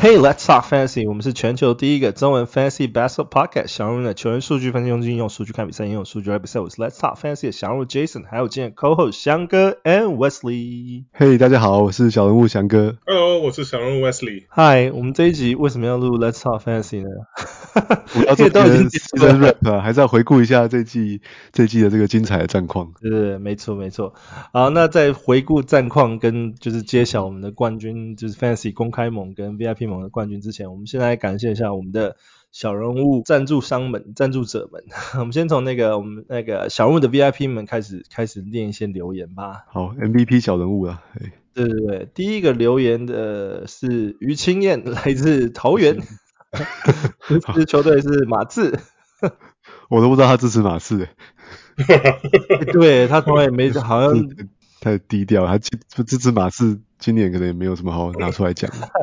Hey, let's talk fantasy. 我們是全球第一個中文 fantasy basketball podcast。小人物的球員數據分析用盡，用數據看比賽，用數據來比賽。我是 Let's talk fantasy 的小人物 Jason， 還有今天 co-host 翔哥 and Wesley。 Hey， 大家好，我是小人物翔哥。 Hello， 我是小人物 Wesley。 Hi， 我们這一集為什麼要錄 Let's talk fantasy 呢？ 我要做都已經結束了 rap 啊，還是要回顧一下這季的這個精彩的戰況。 對，沒錯。好，那在回顧戰況跟就是揭曉我們的冠軍，就是 fantasy 公開盟跟 VIP 盟的冠軍之前，我們先來感謝一下我們的小人物贊助者們。我們先從我們那個小人物的 VIP 們開始念一些留言吧。 好 ，MVP 小人物啦。 对，第一個留言的是於清燕，來自桃園，支持球隊是馬刺。 我都不知道他支持馬刺對，他從來也沒好像太低調，他支持馬刺今年可能也沒有什麼好拿出來講的。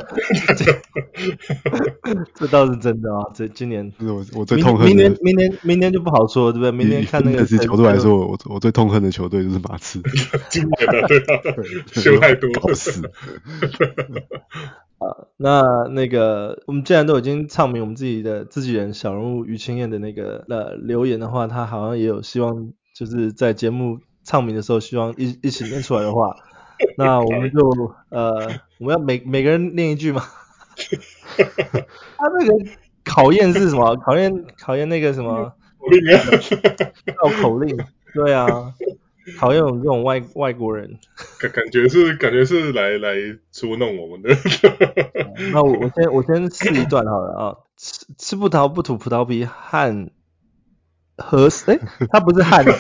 這倒是真的啊，這今年我最痛恨的明年就不好說，对不对？明年看那個球隊來說，我最痛恨的球隊就是馬刺。 今年的對啊，修太多， 搞死。 那個我們既然都已經唱名我們自己人小人物於清燕的那個留言的話，他好像也有希望就是在節目唱名的時候希望一起念出來的話，那我們就我們要每個人念一句嘛。他那個考驗是什麼？考驗那個什麼？繞口令。對啊，考驗我們這種外國人。 感覺是來捉弄我們的。 那我先試一段好了啊。吃葡萄不吐葡萄皮，他不是漢，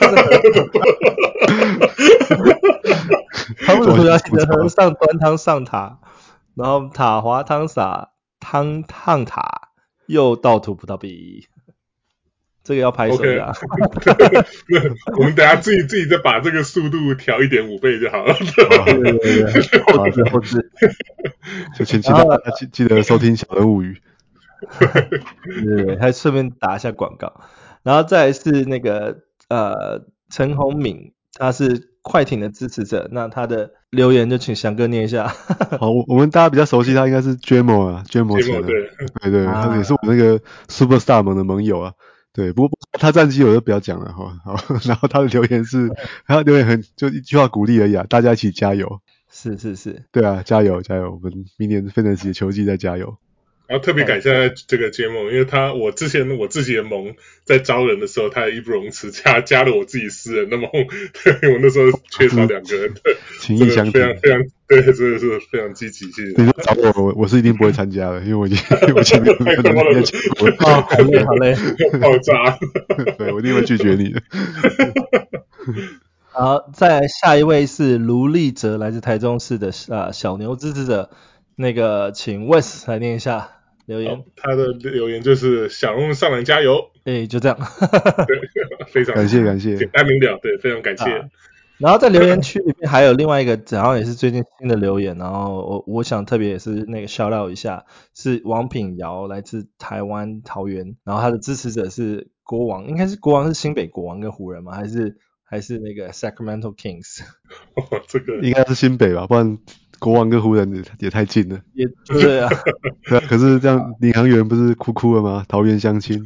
他不是葡萄皮的和尚端湯上塔，然後塔滑湯灑湯燙塔，又倒吐葡萄皮。這個要拍手的。 Okay. 我們等一下自己再把這個速度調 1.5 倍就好了。 對，後置。 就請大家記得收聽小人物語。 對，還順便打一下廣告。然後再來是那個陳宏敏，他是快艇的支持者，那他的留言就請翔哥念一下。 好，我們大家比較熟悉他應該是 Jamo 啊 ，Jamo 前的，對，他也是我那個 Superstar 盟的盟友啊。對，不過他戰績我就不要講了哈。好，然後他的留言是，他留言就一句話鼓勵而已啊，大家一起加油。 是。 對啊，加油！我們明年 Fantasy 的球季再加油。 然後特別感謝這個節目，因為我之前我自己的盟在招人的時候，他也義不容辭加了我自己私人的盟，對，我那時候缺少2個人， 情義相挺， 非常對，真的是非常積極，謝謝。 你說找我是一定不會參加的，因為我前面太多了， 好累， 爆炸， 對，我一定會拒絕你的。 好，再來下一位是盧立哲，來自台中市的小牛支持者，那個請 Wes 來念一下留言。 他的留言就是小人物上籃加油。 就這樣。 對，非常感謝， 簡單明了，對，非常感謝。 然後在留言区裡面還有另外一個，好像也是最近新的留言，然後我想特別也是那個 shout out 一下，是王品堯，來自台灣桃園，然後他的支持者是國王，應該是國王是新北國王跟湖人嗎？還是那個 Sacramento Kings？ 這個應該是新北吧，不然國王跟湖人也太近了。 也對啊。 對啊，可是這樣領航員不是哭了嗎？桃園相親。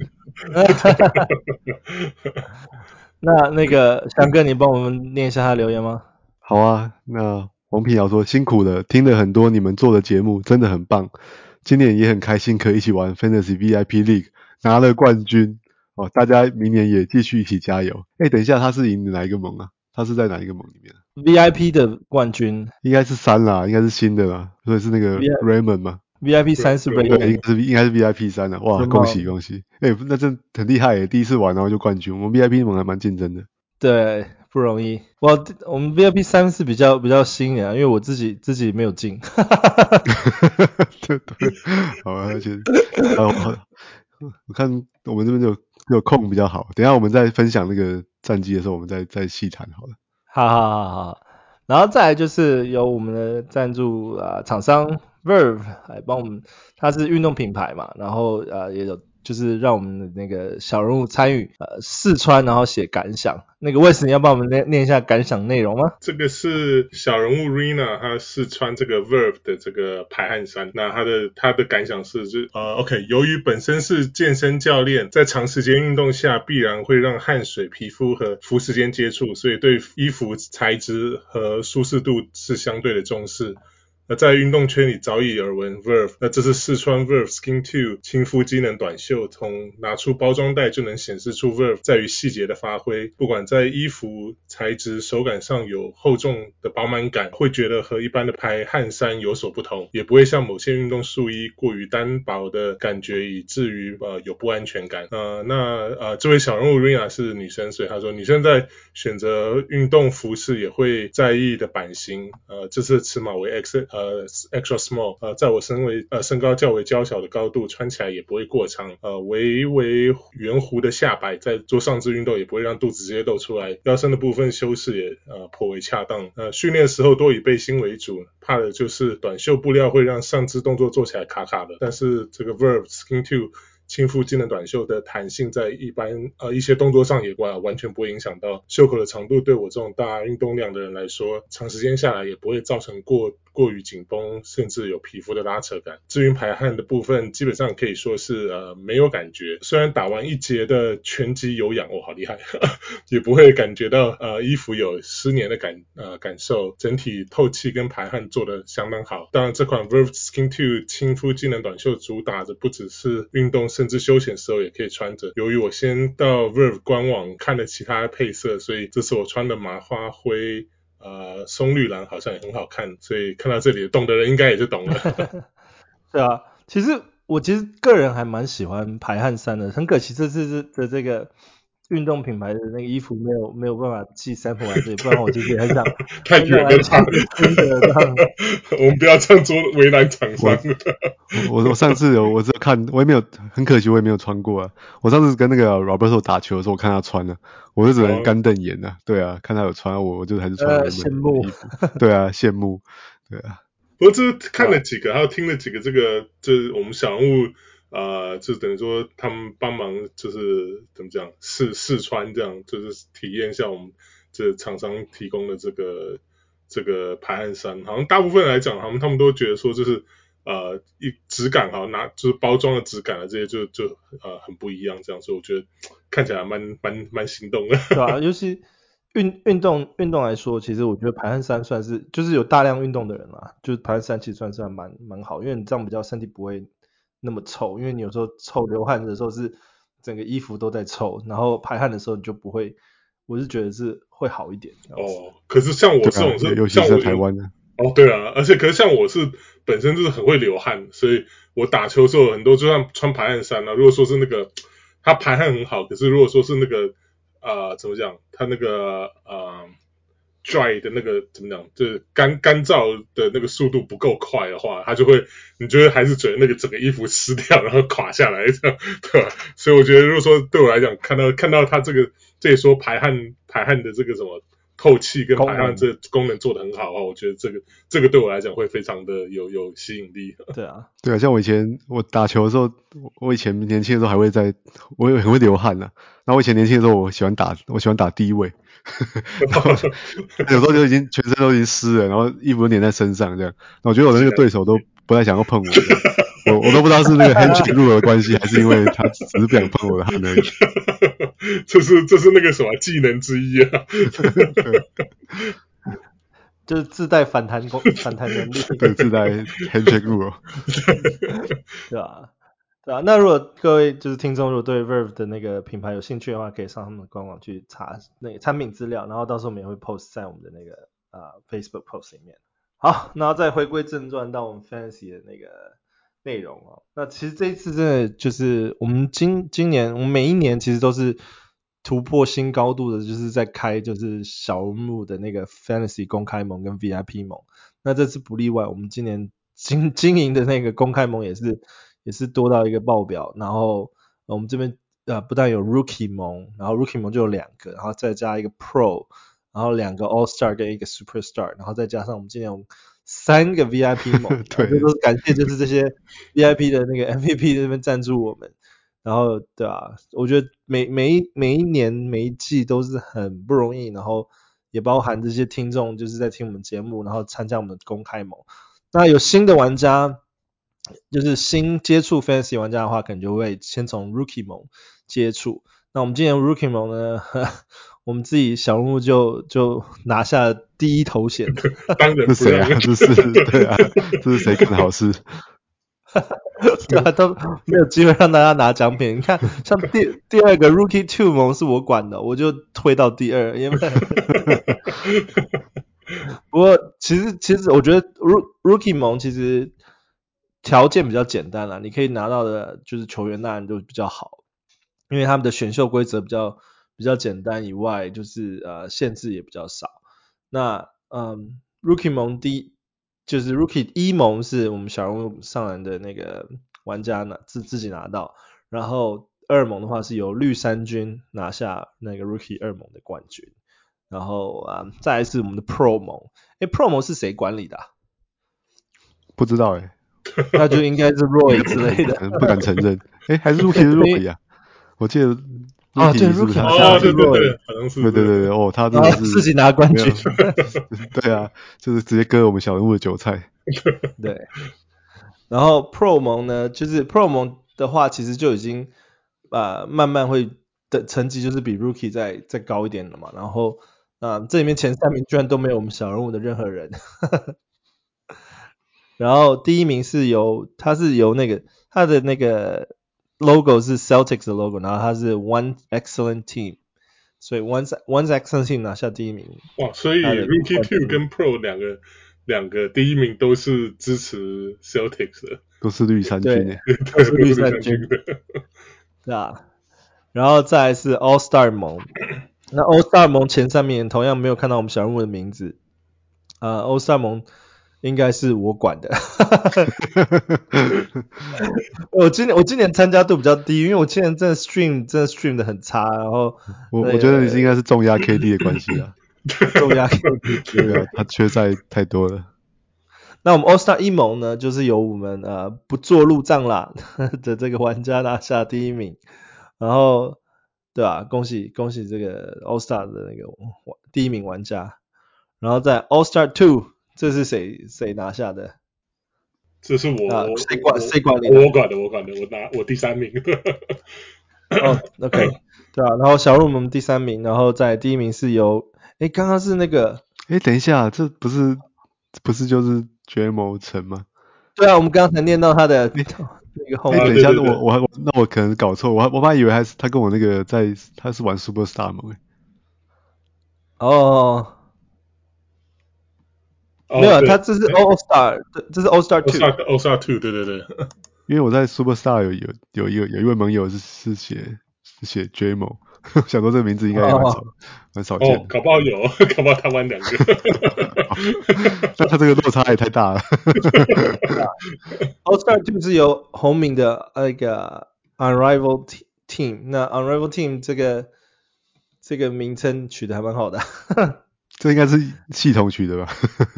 那個翔哥，你幫我們念一下他的留言嗎？ 好啊，那王品堯說辛苦了，聽了很多你們做的節目，真的很棒。今年也很開心可以一起玩 Fantasy VIP League， 拿了冠軍哦，大家明年也繼續一起加油。等一下，他是贏哪一個盟啊？他是在哪一個盟裡面 ？VIP 的冠軍應該是3啦，應該是新的啦，所以是那個 Raymond 嘛。 VIP 3是 Raymond， 應該是 VIP 3啦。哇，恭喜！那真很厲害耶，第一次玩然後就冠軍。我們 VIP 盟還蠻競爭的。 對，不容易。我們 VIP 3是比較新的，因為我自己沒有進。 對，好啊，而且我看我們這邊有空比較好，等一下我們再分享那個戰績的時候，我們再細談好了。 好。然後再來就是由我們的贊助廠商 Verve 來幫我們，它是運動品牌嘛，然後也有就是讓我們的那個小人物參與試穿，然後寫感想。那個Wes，你要幫我们念一下感想內容嗎？ 这個是小人物 Rina， 他試穿這個 Verve 的這個排汗衫。那他的感想是，OK， 由於本身是健身教練，在長時間運動下必然會讓汗水、皮膚和服時間接觸，所以對衣服材質和舒適度是相對的重視。在運動圈裡早已耳聞 Verve， 那這是試穿 Verve Skin 2親膚機能短袖，從拿出包裝袋就能顯示出 Verve 在於細節的發揮，不管在衣服材質手感上有厚重的飽滿感，會覺得和一般的排汗衫有所不同，也不會像某些運動束衣過於單薄的感覺，以至於有不安全感。這位小人物 Rina 是女生，所以她說女生在選擇運動服飾也會在意的版型，這次尺碼為 extra small， 在我身高較為嬌小的高度穿起來也不會過長，微微圓弧的下擺在做上肢運動也不會讓肚子直接露出來，腰身的部分修飾也頗為恰當。訓練的時候多以背心為主，怕的就是短袖布料會讓上肢動作做起來卡卡的，但是這個 Verve Skin 2親膚機能短袖的彈性在一些動作上也完全不會影響到，袖口的長度對我這種大運動量的人來說，長時間下來也不會造成過於緊繃，甚至有皮膚的拉扯感。至於排汗的部分，基本上可以說是沒有感覺，雖然打完一節的拳擊有氧，好厲害，也不會感覺到衣服有濕黏的感受，整體透氣跟排汗做得相當好。當然這款 Verve Skin 2親膚機能短袖主打的不只是運動，甚至休閒時候也可以穿着。由於我先到 Verve 官網看了其他配色，所以這次我穿的麻花灰松綠藍好像也很好看，所以看到這裡懂的人應該也就懂了。 對啊，我其實個人還蠻喜歡排汗衫的，很可惜這次的這個運動品牌的那個衣服沒有辦法寄sample來這裡，不然我其實也很想太遠了吧。 我們不要這樣做為難廠商。 我上次我只有看，我也沒有，很可惜我也沒有穿過啊。我上次跟那個 Roberto 打球的時候，我看他穿了，我就只能乾瞪眼啊。對啊，看他有穿，我就還是穿我的衣服。對啊，羨慕。對啊。 不過這看了幾個，還有聽了幾個，這個就是我們小人物就等於說他們幫忙，就是怎麼講試穿這樣，就是體驗一下我們這廠商提供的這個排汗衫。好像大部分來講，他們都覺得說就是質感就是包裝的質感啊，這些就很不一樣這樣，所以我覺得看起來蠻心動的。 對啊，尤其運動來說，其實我覺得排汗衫算是就是有大量運動的人啦，就是排汗衫其實算是蠻好，因為你這樣比較身體不會那麼臭，因為你有時候流汗的時候是整個衣服都在臭，然後排汗的時候你就不會，我是覺得是會好一點。 可是像我這種是， 尤其是在台灣的。 對啊，而且可是像我是本身就是很會流汗，所以我打球的時候很多就算穿排汗衫啊，如果說是那個它排汗很好，可是如果說是那個怎麼講，它那個dry 的那個怎麼講，就是乾燥的那個速度不夠快的話，它就會你就會還是覺得那個整個衣服濕掉，然後垮下來這樣，對吧？所以我覺得如果說對我來講，看到它這裡說排汗的這個什麼透氣跟排汗這個功能做得很好的話，我覺得這個對我來講會非常的有吸引力。 對啊， 像我打球的時候，我以前年輕的時候我也很會流汗啊。然後我以前年輕的時候，我喜歡打低位，然後有時候就全身都已經濕了，然後衣服都黏在身上這樣。我覺得我的那個對手都不太想要碰我都不知道是那個 handshake rule 的關係，還是因為他只是不想碰我的汗而已。 這是那個什麼技能之一啊。 就是自帶反彈能力。 對，自帶 handshake rule。 对啊。那如果各位就是聽眾，如果對 Verve 的那個品牌有興趣的話，可以上他們的官網去查那個產品資料，然後到時候我們也會 post 在我們的那個Facebook post 裡面。好，然後再回歸正傳到我們 Fantasy 的那個內容哦。那其實這一次真的就是我們今年我們每一年其實都是突破新高度的，就是在開就是小人物的那個 Fantasy 公開盟跟 VIP 盟。那這次不例外，我們今年經營的那個公開盟也是多到一個爆表，然後我們這邊不但有 Rookie 盟，然後 Rookie 盟就有2個，然後再加一個 Pro， 然後2個 All Star 跟一個 Superstar， 然後再加上我們今年有3個 VIP 盟，對，這都是感謝就是這些 VIP 的那個 MVP 在這邊贊助我們。 然後對啊，我覺得每一年每一季都是很不容易，然後也包含這些听眾就是在听我们節目，然后參加我們的公開盟。那有新的玩家，就是新接觸 Fantasy 玩家的話，可能就會先從 Rookie 盟接觸。那我們今年 Rookie 盟呢，我們自己小人物就拿下了第一頭銜。 當然不是誰啊？這是对啊，這是誰幹的好事？ 对啊，都沒有機會讓大家拿獎品。你看，像第二個 Rookie 2 盟是我管的，我就推到第二，因為不過其實我覺得 Rookie 盟其實條件比較簡單啦，你可以拿到的就是球員當然就比較好，因為他們的選秀規則比較簡單以外，就是限制也比較少。那Rookie 盟就是 Rookie 1盟是我們小人物上籃的那個玩家自己拿到，然後2盟的話是由綠衫軍拿下那個 Rookie 2盟的冠軍，然後再來是我們的 Pro 盟。Pro 盟是誰管理的啊？ 不知道那就應該是 Roy 之類的， 不敢承認。還是 Rookie 是 Roy 啊？我記得 Rookie 是不是他？ 对，好像是。 对，他真的是自己拿冠軍。 对啊，就是直接割我們小人物的韭菜。 對。然後 Pro 盟呢，就是 Pro 盟的話，其實就已經慢慢會的成績就是比 Rookie 再高一點了嘛。然後這裡面前3名居然都沒有我們小人物的任何人。然後第1名是他的那個 logo 是 Celtics 的 logo， 然後他是 One Excellent Team， 所以 One Excellent Team 拿下第1名。 哇，所以 Rookie 2跟 Pro 兩個第1名都是支持 Celtics 的， 都是綠衫軍耶， 都是綠衫軍的。對啊，然後再來是 All Star 盟，那 All Star 盟前3名同樣沒有看到我們小人物的名字。All Star 盟應該是我管的。我今年參加度比較低，因為我今年真的 stream 的很差，然後我覺得你是應該是重壓 KD 的關係啊。 重壓 KD， 對啊，他缺賽太多了。 那我們 All Star 1盟呢，就是由我們不做路障啦的這個玩家拿下第1名，然後對啊，恭喜這個 All Star 的那個第1名玩家。然後在 All Star 2，這是誰拿下的？ 這是我誰管理的？ 我管的，我第3名。 OK， 對啊，然後小鹿我們第3名，然後在第1名是由剛剛是那個等一下，這不是就是 JMO 陳嗎？ 對啊，我們剛才念到他的那個後面。 等一下，那我可能搞錯，我本來以為他跟我那個他是玩 Superstar 盟。 沒有，他這是 All Star， 這是 All Star 2。All Star 2，對。 因為我在 Superstar 有一位盟友是寫 JMO， 想說這個名字應該也蠻少見的。 搞不好有，搞不好他玩2個。 但他這個落差也太大了。 All Star 2是由紅明的那個 Unrivaled Team， 那 Unrivaled Team 這個名稱取得還蠻好的。 這應該是系統取的吧？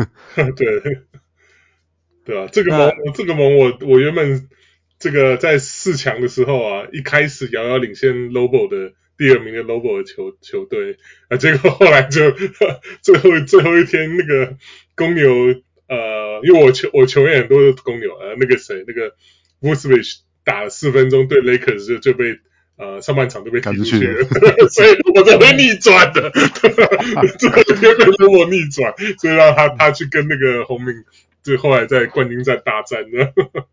對啊，這個盟我原本這個在4強的時候啊，一開始遙遙領先 Lobo 的第2名的 Lobo 的球隊結果後來就最後一天那個公牛因為我球員很多都是公牛那個誰那個 Vucevic 打了4分鐘對 Lakers 就被上半場都被踢出去了，所以我才會逆轉的。最後一天被我逆轉，所以讓他去跟那個紅明，就後來在冠軍戰大戰的。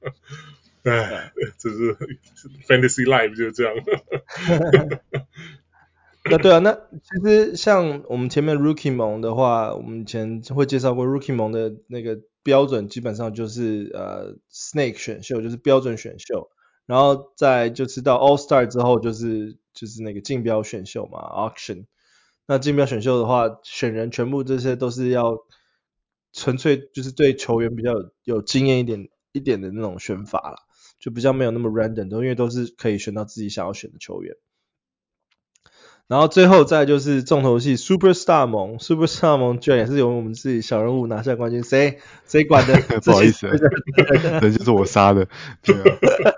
這是 Fantasy Life 就是這樣。 對啊，那其實像我們前面 Rookie 盟的話，我們以前會介紹過 Rookie 盟的那個標準，基本上就是Snake 選秀，就是標準選秀。然後再就是到 All Star 之後就是那個競標選秀嘛 Auction。那競標選秀的話，選人全部這些都是要純粹就是對球員比較有經驗一點的那種選法啦，就比較沒有那麼 random，因為都是可以選到自己想要選的球員。 然後最後再就是重頭戲 Superstar 盟 ，Superstar 盟居然也是由我們自己小人物拿下冠軍，誰管的？ 不好意思，人就是我殺的。对啊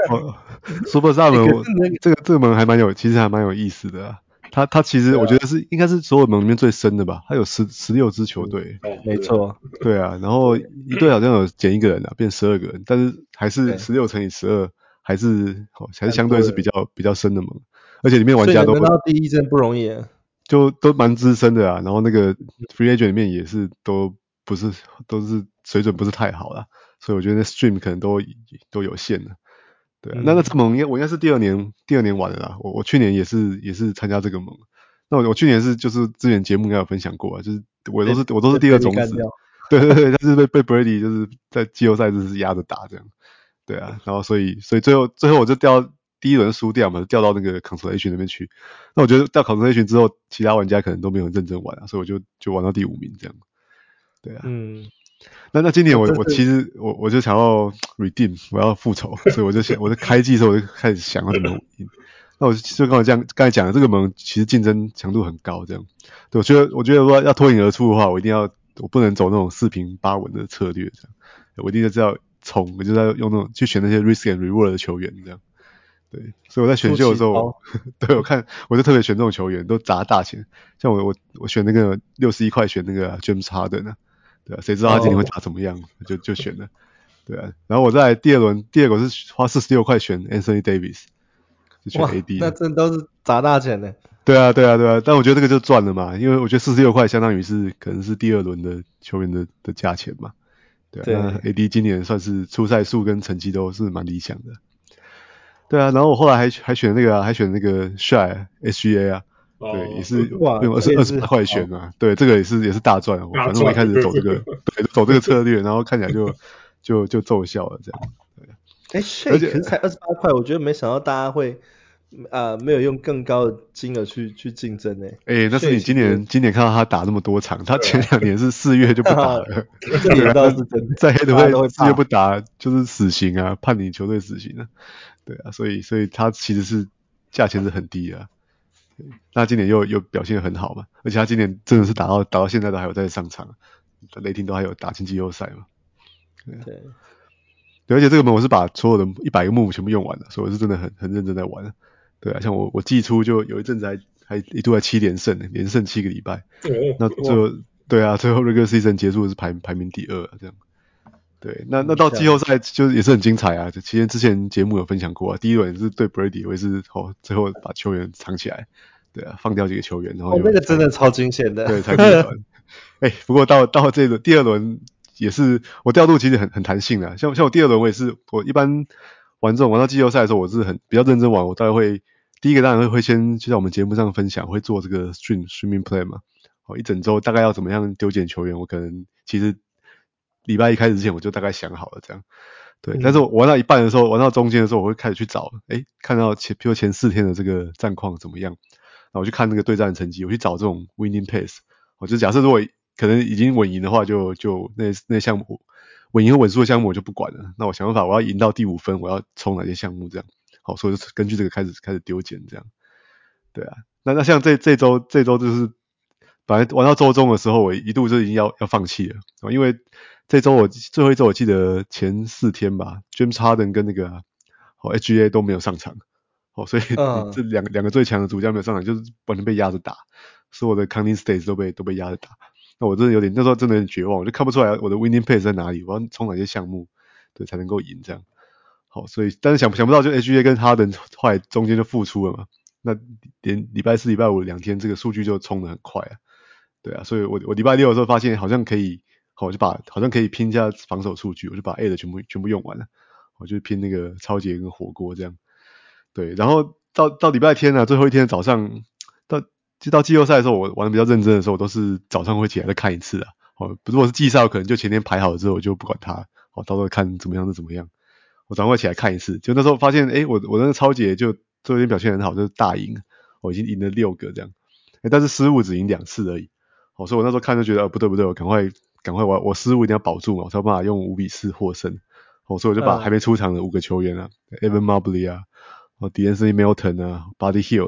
，Superstar 盟這個盟其實還蠻有意思的啊。他其實我覺得应該是所有盟裡面最深的吧，他有16支球隊。 沒錯。 對啊，然後一隊好像有減一個人啊，變12個人，但是還是16乘以12，還是相對是比較深的盟。而且裡面玩家都所以能到第一真不容易啊， 就都蠻資深的啊，然後那個 free agent 裡面也是都是水準不是太好啦，所以我覺得那 stream 可能都有限的。對啊，那這盟我应該是第二年玩的啦，我去年也是參加這個盟。那我去年就是之前節目應該有分享過啊，就是我都是第二種子，對，但是被 Brady 就是在季後賽就是壓着打這樣。對啊，然後所以最後我就掉第一輪輸掉嘛，掉到那個 consolation 那邊去。那我覺得掉 consolation 之後，其他玩家可能都沒有認真玩啊，所以我就玩到第5名這樣。對啊，那今年我其實我就想要 redeem， 我要復仇，所以我就開季的时候我就開始想要怎麼贏。那我就剛才講的這個盟其實競爭強度很高，這樣。對，我覺得如果要脫穎而出的話，我不能走那種4平8穩的策略，這樣。我一定是要衝，我就要用那種去選那些 risk and reward 的球員，這樣。對，所以我在選秀的時候，對，我就特別選這種球員，都砸大錢。像我選那個61塊選那個 James Harden 啊，對啊，誰知道他今年會打怎麼樣，就選了。對啊，然後我在第二個是花46塊選 Anthony Davis。選 AD， 那真的都是砸大錢的。 對啊，但我覺得這個就賺了嘛，因為我覺得46塊相當於可能是第二輪的球員的價錢嘛。對啊，那 AD 今年算是出賽數跟成績都是蠻理想的。對啊，然後我後來還選那個 Shai SGA 啊，對，也是用28塊選嘛。對，這個也是大賺。反正我一開始走這個策略，然後看起來就奏效了這樣。 Shai 可是才28塊，我覺得沒想到大家會沒有用更高的金額去競爭誒。 那是你今年看到他打那麼多場，他前2年是4月就不打了。 這也倒是真的， 在黑隊4月不打就是死刑啊，判你球隊死刑啊。對啊，所以他其實是價錢是很低的。那今年又表現得很好嘛，而且他今年真的是打到現在都還有在上場，雷霆都還有打進季後賽嘛。對，而且這個盟我是把所有的100個 move 全部用完了，所以我是真的很認真在玩。對啊，像我季初就有一陣子還一度在7連勝7個禮拜。那對啊，最後 regular season 結束是排名第2啊，這樣。對，那到季後賽就也是很精彩啊！就之前節目有分享過啊，第一輪是對 Brady， 我也是最後把球員藏起來，對啊，放掉幾個球員，然後那個真的超驚險的， 對，才逆轉。不過到這輪第2輪也是我調度其實很彈性啊，像我第2輪我一般玩到季後賽的時候，我是比較認真玩，我大概會第一個當然會先就在我們節目上分享，會做這個 streaming play 嘛，一整周大概要怎麼樣丟揀球員，我可能其實禮拜一開始之前我就大概想好了這樣，對。但是我玩到一半的時候，玩到中間的時候，我會開始去找，看到比如前4天的這個戰況怎麼樣，然後我去看那個對戰的成績，我去找這種 winning pace， 我就假設如果可能已經穩贏的話，就那項目穩贏和穩輸的項目我就不管了，那我想辦法我要贏到第5分，我要衝哪些項目這樣，好，所以就根據這個開始丟揀這樣，對啊。那像這周就是本來玩到周中的時候，我一度就已經要放棄了，因為最後一周我記得前4天吧 ，James Harden 跟那個SGA 都沒有上場，所以這兩個最強的主將沒有上場，就是完全被壓着打，所有的 counting stats 都被壓着打。那我真的那時候真的有點絕望，我就看不出来我的 winning pace 在哪裡，我要衝哪些項目，對，才能夠贏這樣。好，所以但是想不到就 SGA 跟 Harden 後來中間就復出了嘛，那連禮拜4、禮拜52天這個數據就衝得很快啊，對啊，所以我禮拜6的時候發現好像可以。好像可以拼一下防守數據，我就把 A 的全部用完了，我就拼那個超級跟火鍋這樣。對，然後到禮拜天啊，最後一天早上到季後賽的時候，我玩的比較認真的時候，我都是早上會起来再看一次啊。如果是季賽，可能就前天排好了之後我就不管它，到時候看怎麼樣就怎麼樣。我早上會起來看一次，就那時候發現，我那個超級就最後一天表現很好，就是大贏，我已經贏了6個這樣，但是失誤只贏2次而已。所以我那時候看就覺得不對，我趕快我失誤一定要保住嘛，我才有辦法用5-4獲勝。所以我就把還沒出場的5個球員啊，Evan Mobley 啊，De'Anthony Melton 啊，Buddy Hield，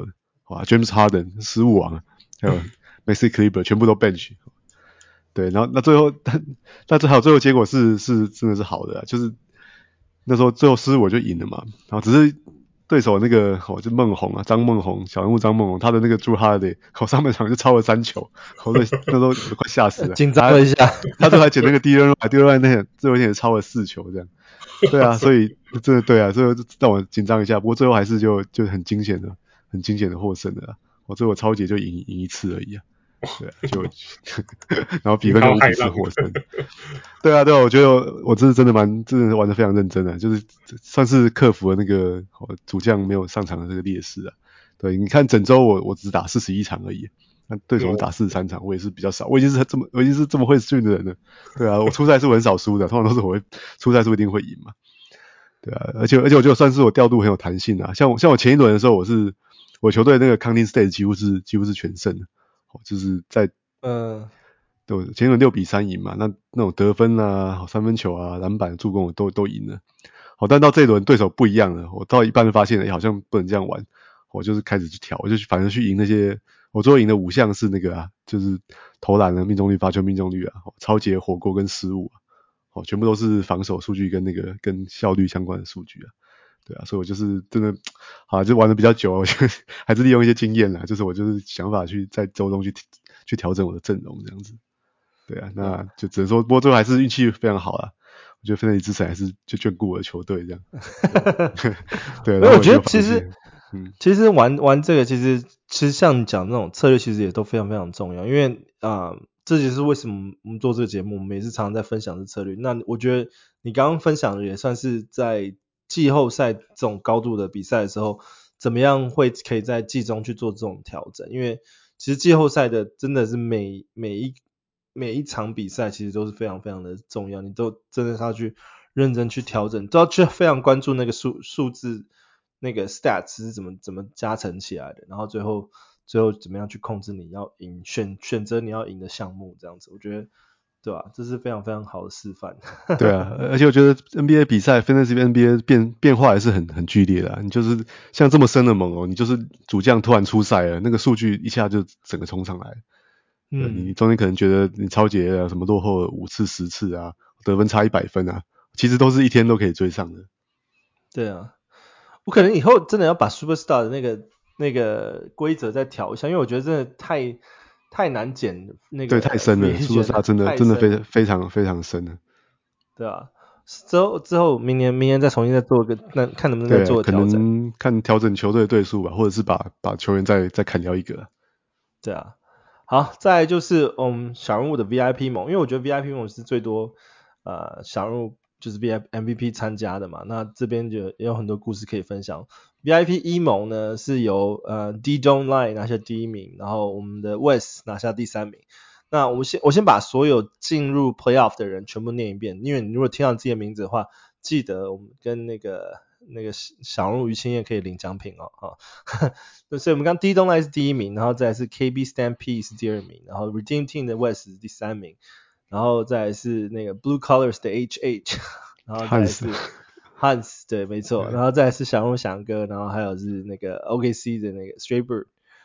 哇 ，James Harden 失誤王，還有 Maxi Kleber 全部都 bench。对，然後那最後，但最后結果是真的是好的，就是那时候最后失误我就贏了嘛，然後只是對手那個就孟宏啊，張孟宏，小人物張孟宏，他的那個 Drew Holiday，上半場就超了3球，所以那時候我都快嚇死了， 緊張了一下， 他最後還撿那個第二輪那最後一點超了4球這樣，對啊，所以真的對啊，最後讓我緊張一下，不過最後還是就很驚險的獲勝的，我最後超級就贏一次而已啊。對啊，然後比分就一起是獲勝。對啊，我覺得我真的玩得非常認真的，就是算是克服了那個主將沒有上場的這個劣勢啊。對，你看整周我只打41場而已，那對手是打43場，我也是比較少。我已經是這麼會訓的人了。對啊，我出賽是我很少輸的，通常都是我會出賽是一定會贏嘛。對啊，而且我覺得算是我調度很有彈性啊。像我前一輪的時候，我球隊那個 Counting State 幾乎是全勝的。就是在對，前一輪6-3贏嘛，那種得分啊、三分球啊、籃板、助攻我都贏了。好，但到這一輪對手不一樣了，我到一半就發現好像不能這樣玩，我就是開始去調，我就反正去贏那些，我最後贏的5項是那個就是投籃的命中率、罰球命中率啊、抄截、火鍋跟失誤啊，全部都是防守數據跟效率相關的數據啊。對啊，所以我就是真的，好，就玩的比較久，我就還是利用一些經驗啦，就是我就是想法去在周中去調整我的陣容這樣子。對啊，那就只能說，不過最後還是運氣非常好啦。我覺得芬尼之神還是就眷顧我的球隊這樣。對，然後我覺得其實玩這個其實像你講那種策略，其實也都非常非常重要，因為這就是為什麼我們做這個節目，我們也是常常在分享這策略。那我覺得你剛剛分享的也算是在季後賽這種高度的比賽的時候，怎麼樣可以在季中去做這種調整？因為其實季後賽的真的是每一場比賽其實都是非常非常的重要，你都真的是要去認真去調整，都要去非常關注那個數字那個 stats 是怎麼加成起來的，然後最後怎麼樣去控制你要贏，選擇你要贏的項目這樣子，我覺得。對吧？這是非常非常好的示範。 對啊，而且我覺得 NBA 比賽 Fantasy NBA 變化還是很劇烈的你就是像這麼深的盟你就是主將突然出賽了，那個數據一下就整個衝上來。你中間可能覺得你抄截什麼落後5次10次啊，得分差100分啊，其實都是一天都可以追上的。 對啊，我可能以後真的要把 Superstar 的那個規則再調一下，因為我覺得真的太難減那個， 對，太深了，Superstar 真的非常非常深了。 对啊，之後明年再重新再做個，那看能不能再做個調整， 可能看調整球队的隊數吧，或者是把球員再砍掉一個。 對啊，好，再來就是小人物的 VIP 盟，因為我覺得 VIP 盟是最多小人物就是 MVP 參加的嘛，那這邊就也有很多故事可以分享。VIP 一盟呢是由D Don't Lie 拿下第1名，然後我們的 West 拿下第3名。那我先把所有進入 Playoff 的人全部念一遍，因為你如果听到自己的名字的话，記得我們跟那个小人物於清燕可以領獎品哦。所以我們剛 D Don't Lie 是第1名，然後再來是 KB Stampede 是第2名，然後 Redeem Team 的 West 是第3名，然後再來是那個 Blue Colors 的 HH， 然後再來是Hans 對沒錯，然後再來是小人物翔哥，然後還有是那個 OKC 的那個 Straybird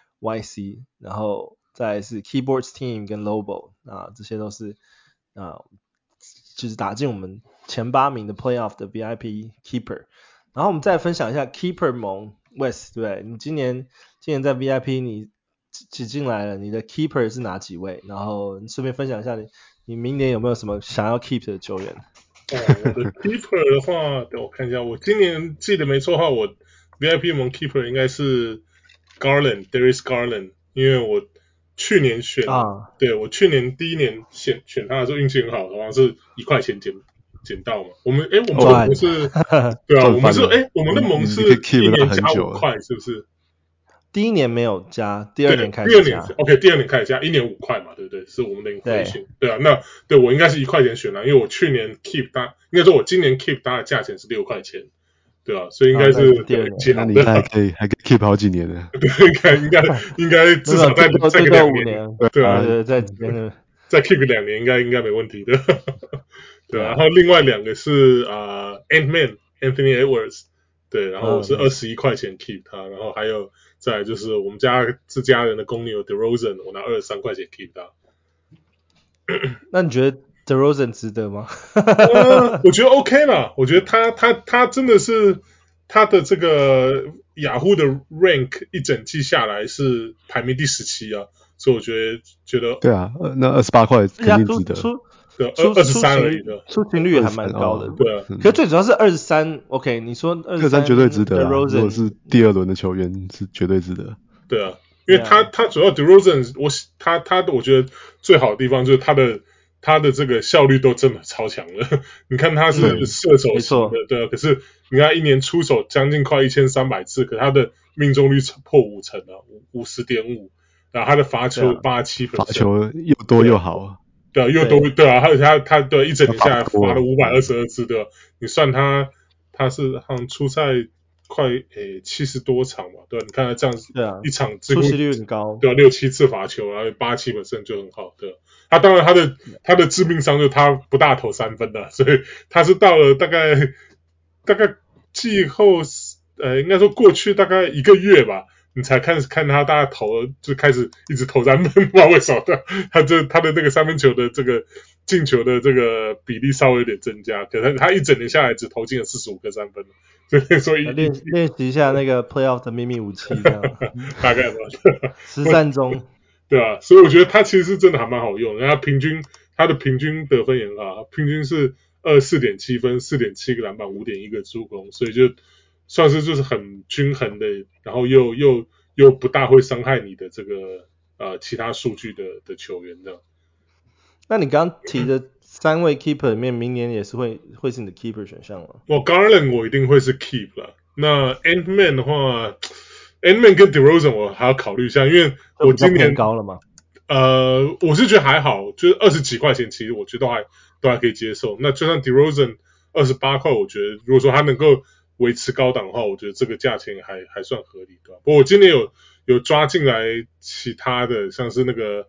YC， 然後再來是 Keyboards Team 跟 Lobo 這些都是就是打進我們前8名的 Playoff 的 VIP Keeper。然後我們再分享一下 Keeper 盟 West， 對，你今年在 VIP 你擠進來了，你的 Keeper 是哪幾位？然後你順便分享一下你明年有沒有什麼想要 keep 的球員？ 我的 Keeper 的話，等我看一下，我今年記得沒錯的話，我 VIP 盟 Keeper 應該是 Darius Garland， 因為我去年對，我去年第1年選他的時候運氣很好，好像是1塊錢撿到嘛。我們的盟是，對啊，我們的盟是1年加5塊，是不是？ 第1年沒有加，第2年開始加。 第2年開始加，1年5塊嘛，對不對？是我們的 inflation。對啊，那對我應該是1塊錢選了，因為我去年 keep 他，應該說我今年 keep 他的價錢是6塊錢，對啊，所以應該是那你還可以 keep 好幾年呢。 對，應該至少再個2年。對啊，再 keep 2年應該沒問題的。對啊，然後另外2個是Ant-Man Anthony Edwards。對，然後我是21塊錢 keep 他，然後還有再來就是我們自家人的公牛 DeRozan， 我拿23塊錢 keep 他。 那你覺得 DeRozan 值得嗎？ 我觉得 OK 啦，我觉得他真的是他的这个雅虎的 rank 一整季下來是排名第17啊，所以我覺得對啊，那28塊肯定值得。 對，23而已的， 出勤率也還蠻高的。 對啊， 可是最主要是23 ，OK， 你說23 絕對值得啊，如果是第二輪的球員是絕對值得。 對啊，因為他主要 DeRozan， 我覺得最好的地方就是他的這個效率都真的超強了。你看他是射手型的，對啊，可是你看一年出手將近快1300次，可他的命中率破50%啊，50.5%，然後他的罰球87%， 罰球又多又好。 對啊，又多對啊，而且他對一整年下來罰了522次，對吧？你算他是好像出賽快70多場嘛，對吧？你看他這樣子， 對啊， 一場出席率很高， 對啊，6-7次罰球，然後87%就很好，對吧？他當然他的致命傷就是他不大投三分的，所以他是到了大概季後應該說過去大概1個月吧。你才看他大概投就開始一直投三分，不知道為什麼他的那個三分球的這個進球的這個比例稍微有點增加，可是他一整年下來只投進了45個三分，所以練習一下那個 playoff 的秘密武器這樣， 大概吧， 實戰中， 對啊，所以我覺得他其實是真的還蠻好用，然後他的平均得分也很好，平均是24.7分，4.7個籃板，5.1個助攻，所以就算是就是很均衡的，然後又不大會傷害你的這個其他數據的球員這樣。 那你剛剛提的3位 keeper 裡面，明年也是會是你的 keeper 選項嗎？ Garland 我一定會是 keep 啦。那 Ant-Man 的話 ，Ant-Man 跟 DeRozan 我還要考慮一下，因為我今年高了嗎？ 我是覺得還好，就是20幾塊錢，其實我覺得都還可以接受。那就算 DeRozan 28塊，我覺得如果說他能夠維持高檔的話，我覺得這個價錢還算合理，對吧？不過我今年有抓進來其他的，像是那個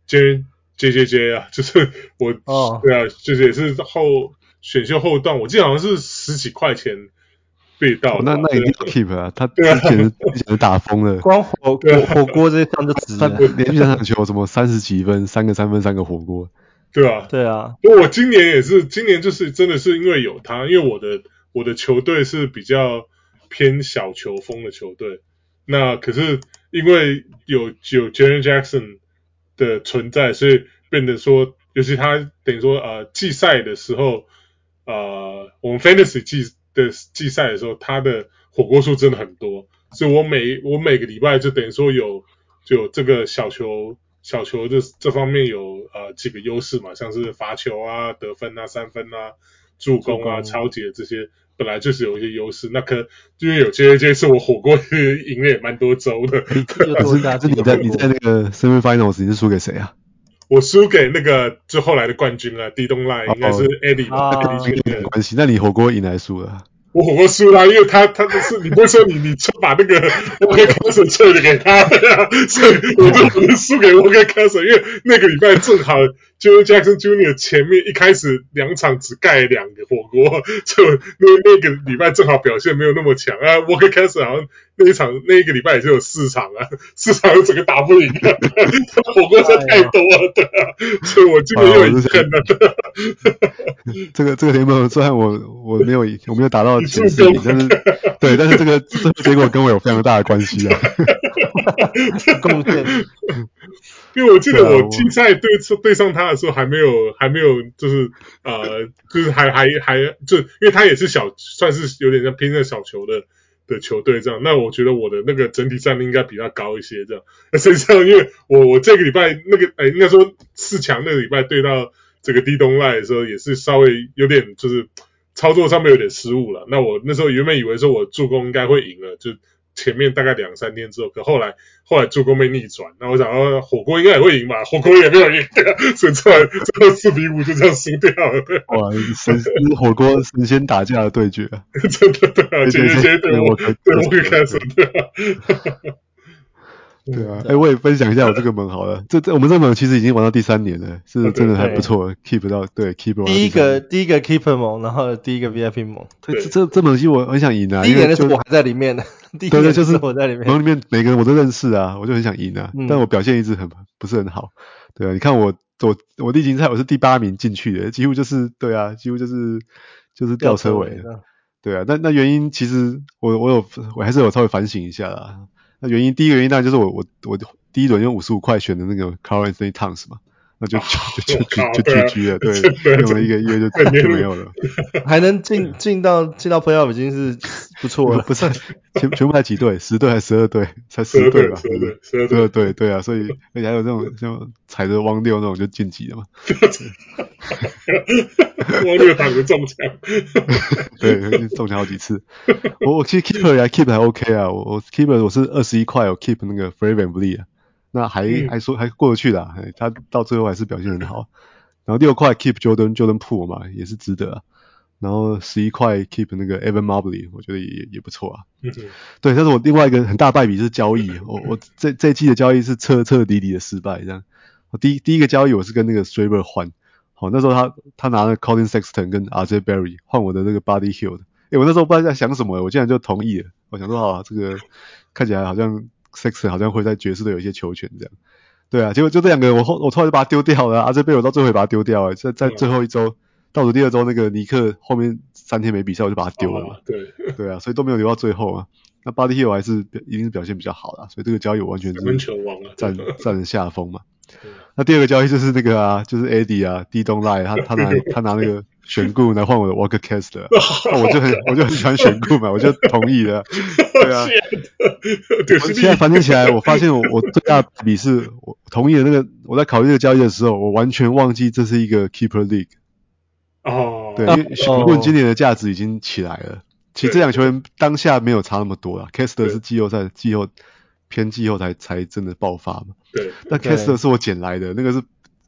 JJJ 啊，就是對啊，就是也是選秀後段，我記得好像是10幾塊錢被盜。 那一定要 keep 啊，他之前是打瘋了， 光火鍋這一項就值了， 連續3場球什麼30幾分，3個三分，3個火鍋。 對啊， 對啊。 不過我今年就是真的是因為有他，因為我的球隊是比較偏小球風的球隊，那可是因為有 Jaren Jackson 的存在，所以變得說，尤其他等於說季賽的時候，我們 Fantasy 季賽的時候，他的火鍋數真的很多，所以我每個禮拜就等於說有這個小球這方面有幾個優勢嘛，像是罰球啊、得分啊、三分啊、助攻啊、抄截這些。本來就是有一些優勢，那可因為有 JJ 是我火鍋贏了也蠻多週的。 可是你在那個 Semifinals 你是輸給誰啊？ 我輸給那個就後來的冠軍啊，地東賴應該是 Eddie 吧？ 跟你沒關係，那你火鍋贏還是輸了？ 我火鍋輸了，因為他是你不會說你把那個 Walker Kessler 撤的給他，所以我就輸給 Walker Kessler，因為那個禮拜正好 Jaren Jackson Jr. 前面一開始2場只蓋2個火鍋，就那個禮拜正好表現沒有那麼強啊。Walker Kessler 好像那一個禮拜也就有4場啊，4場整個打不贏啊，火鍋真的太多了，對啊，所以我今年又贏了。 這個聯盟雖然我沒有達到前4名，但是這個結果跟我有非常大的關係啊。 貢獻。 因為我記得我季賽對上他的時候還沒有就是還就因為他也是算是有點像偏向小球的球隊這樣，那我覺得我的那個整體戰力應該比他高一些這樣。那實際上因為我這個禮拜那個應該說4強那個禮拜對到這個地東賴的時候也是稍微有點就是操作上面有點失誤了。那我那時候原本以為說我助攻應該會贏了，就前面大概2-3天之後，可後來助攻被逆轉，那我想火鍋應該也會贏吧，火鍋也沒有贏，所以最後4-5就這樣輸掉了。哇， 火鍋神仙打架的對決啊！ 真的對啊，絕對我可以開始對啊。 對啊，我也分享一下我這個盟好了。我們這個盟其實已經玩到第3年了，是真的還不錯，keep 到對 keep 到第一個 keeper 盟，然後第一個 VIP 盟。 對，這盟其實我很想贏啊， 第一個那是我還在裡面的。 對，就是我在裡面， 盟裡面每個人我都認識啊，我就很想贏啊，但我表現一直不是很好，对啊，你看我例行赛我是第8名進去的，幾乎就是對啊，幾乎就是吊車尾的，對啊，那原因其實我還是有稍微反省一下啦，那原因第一個原因當然就是我第一輪用55塊選的那個 Karl-Anthony Towns 嘛。那就 GG 了，對，用了1個月就沒有了， 還能進到 playoff 已經是不錯了。 不是，全部才幾隊？10隊還是12隊？才10隊吧？12隊，對啊，所以而且還有這種像踩着汪六那種就晉級了嘛。 汪六打個中槍， 對，中槍好幾次。我其實 keeper 還 OK 啊，我 keeper 我是21塊，我 keep 那個 Fred VanVleet 啊。那還過得去啦，他到最後還是表現很好。然後6塊 keep Jordan Poole 嘛，也是值得啊。然後11塊 keep 那個 Evan Mobley， 我覺得也不錯啊。對，但是我另外一個很大敗筆是交易，我這一季的交易是徹徹底底的失敗這樣。第一個交易我是跟那個 Straber 換，好，那時候他拿了 Colin Sexton 跟 RJ Barry 換我的那個 Buddy Hield，我那時候不知道在想什麼，我竟然就同意了。我想說好，這個看起來好像 Sexton 好像會在爵士隊有一些球權這樣。對啊，結果就這兩個人我後來就把他丟掉了，RJ Barry 我到最後也把他丟掉了，在最後一周倒數第2周那個尼克後面3天沒比賽我就把他丟了嘛。對啊，所以都沒有留到最後啊。那 Buddy Hield 還是一定是表現比較好啦，所以這個交易我完全是占了下風嘛。那第二個交易就是那個啊，就是 Eddie 啊 ，D Don't Lie， 他拿那個選固來換我的 Walker Kessler， 我就很喜歡選固嘛，我就同意了。對啊，我現在反正起來，我發现我最大的比是我同意了那個，我在考慮這個交易的时候，我完全忘記这是一個 Keeper League。對，因為選固今年的價值已經起來了。其實這兩球員當下沒有差那麼多啦 ，Kessler 是季後偏季後才真的爆發嘛。 對， 但 Kessler 是我撿來的，那個是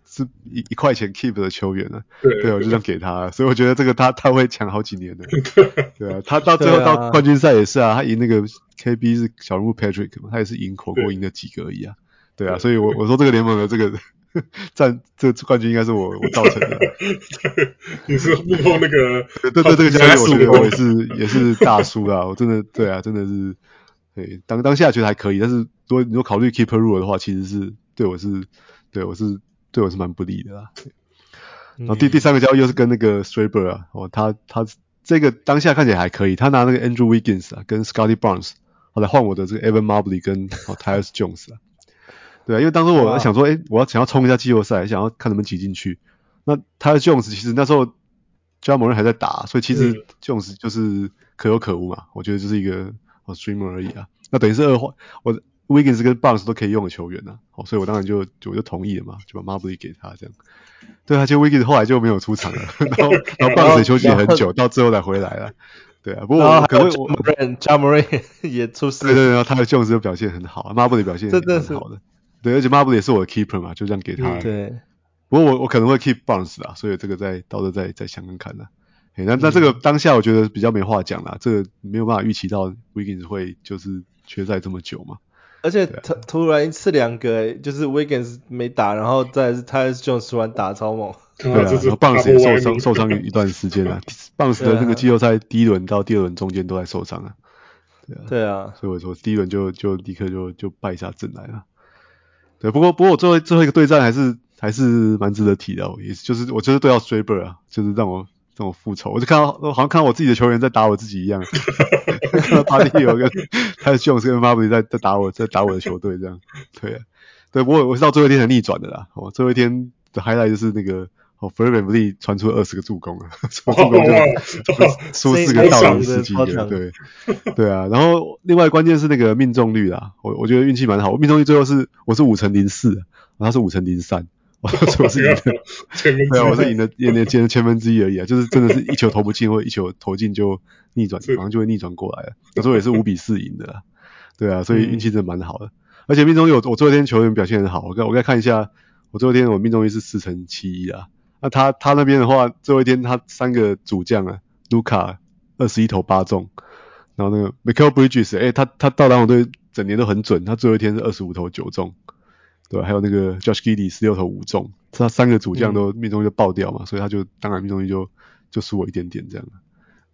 1塊錢 keep 的球員啊。對，我就這樣給他，所以我覺得這個他會搶好幾年的。對啊，他到最後到冠軍賽也是啊，他贏那個 KB 是小人物 Patrick 嘛，他也是火鍋贏了幾個而已啊。對啊，所以我說這個聯盟的這個這個冠軍應該是我造成的。 你是幕後那個对這個交易，我覺得我也是大輸啦。我真的對啊，真的是對當下覺得還可以，但是如果考慮 keeper rule 的話，其實是對我是蠻不利的啦。然後第三個交易又是跟那個 Straber 啊，他這個當下看起來還可以，他拿那個 Andrew Wiggins 啊跟 Scottie Barnes 來換我的這個 Evan Mobley 跟Tyus Jones 啊。對啊，因為當時我想說，我想要衝一下季後賽，想要看能不能擠進去。那Tyus Jones 其實那時候 Ja Morant 還在打，所以其實 Jones 就是可有可無嘛。我覺得就是一個streamer 而已啊。那等於是我 Wiggins 跟 Barnes 都可以用的球員啊。所以我當然就同意了嘛，就把 Mobley 給他這樣。對啊，結果 Wiggins 後來就沒有出場了，然後 Barnes 也休息了很久，到最後才回來了。對啊，不過我可能 Ja Morant 也出事。 對，然後Tyus Jones 就表現很好 ，Mobley 表現也很好的。對，而且 Mobley 也是我的 keeper 嘛，就這樣給他。 对。 不過我可能會 keep Barnes 啦，所以這個到時候再想看看啦。那這個當下我覺得比較沒話講啦，這個沒有辦法預期到 Wiggins 會就是缺賽這麼久嘛。 而且突然一次兩個，就是 Wiggins 沒打，然後再是 Tyus Jones 突然打超猛。 對啊，然後 Barnes 也受傷一段時間啦。Barnes 的那個季後賽第一輪到第二輪中間都在受傷啊。 對啊， 所以我說第一輪就立刻就敗下陣來了。對，不過我最後一個對戰還是蠻值得提的，也就是我就是對到 Straber 啊，就是讓我復仇。我就好像看到我自己的球員在打我自己一樣，看到巴蒂有個他的 Jones 跟 Mobley 在打我的球隊這樣。對啊，對，不過我是到最後一天才逆轉的啦。最後一天的 highlight 就是那個Fred VanVleet 傳出了20個助攻啊，助攻就輸4個到了10幾個，對啊。然後另外關鍵是那個命中率啦，我覺得運氣蠻好，我命中率最後我是5%04%，他是5%03%，我是贏的，對啊，我是贏的千分之一而已啊，就是真的是一球投不進或一球投進就逆轉，馬上就會逆轉過來了。那時候也是5-4贏的啦，對啊，所以運氣真的蠻好的。而且命中率我最後一天球員表現很好，我再看一下，我最後一天我命中率是4.71%啊。那他那邊的話，最後一天他3個主將啊，盧卡21投8中，然後那個 Mikal Bridges， 他到籃網隊整年都很準，他最後一天是25投9中，對吧？還有那個 Josh Giddey 16投5中，他3個主將都命中率就爆掉嘛，所以他就當然命中率就輸我一點點這樣。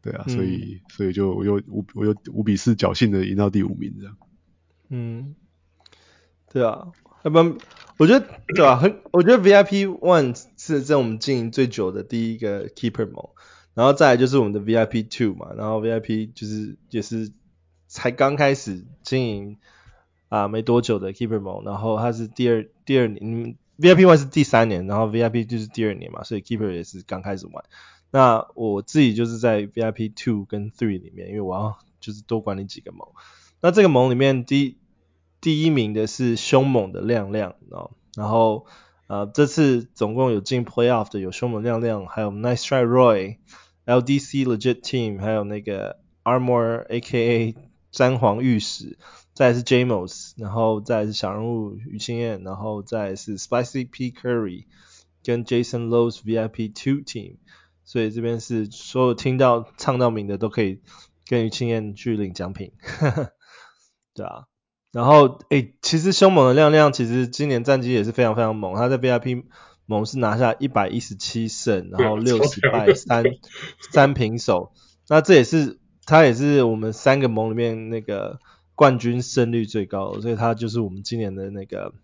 對啊，所以就我又5比4僥倖的贏到第5名這樣。 對啊，要不然我覺得對吧？我覺得 VIP One 是在我們經營最久的第一個 Keeper 盟，然後再來就是我們的 VIP Two 嘛，然後 VIP 就是也是才剛開始經營沒多久的 Keeper 盟，然後它是第二年，VIP One 是第3年，然後 VIP 就是第2年嘛，所以 Keeper 也是剛開始玩。那我自己就是在 VIP 2跟3裡面，因為我要就是多管理幾個盟。那這個盟裡面第一名的是兇猛的亮亮，然後這次總共有進 Playoff 的有兇猛亮亮，還有 Nice Try Roy、LDC Legit Team， 還有那個 Armor AKA 詹皇御史，再來是 Jamos， 然後再來是小人物於清燕，然後再來是 Spicy P Curry 跟 Jason Lowe's VIP 2 Team， 所以這邊是所有聽到唱到名的都可以跟於清燕去領獎品，對啊。然後其實兇猛的亮亮其實今年戰績也是非常非常猛，他在 VIP 盟是拿下117勝，然後60敗3平手，那他也是我們3個盟裡面那個冠軍勝率最高的，所以他就是我们今年的那個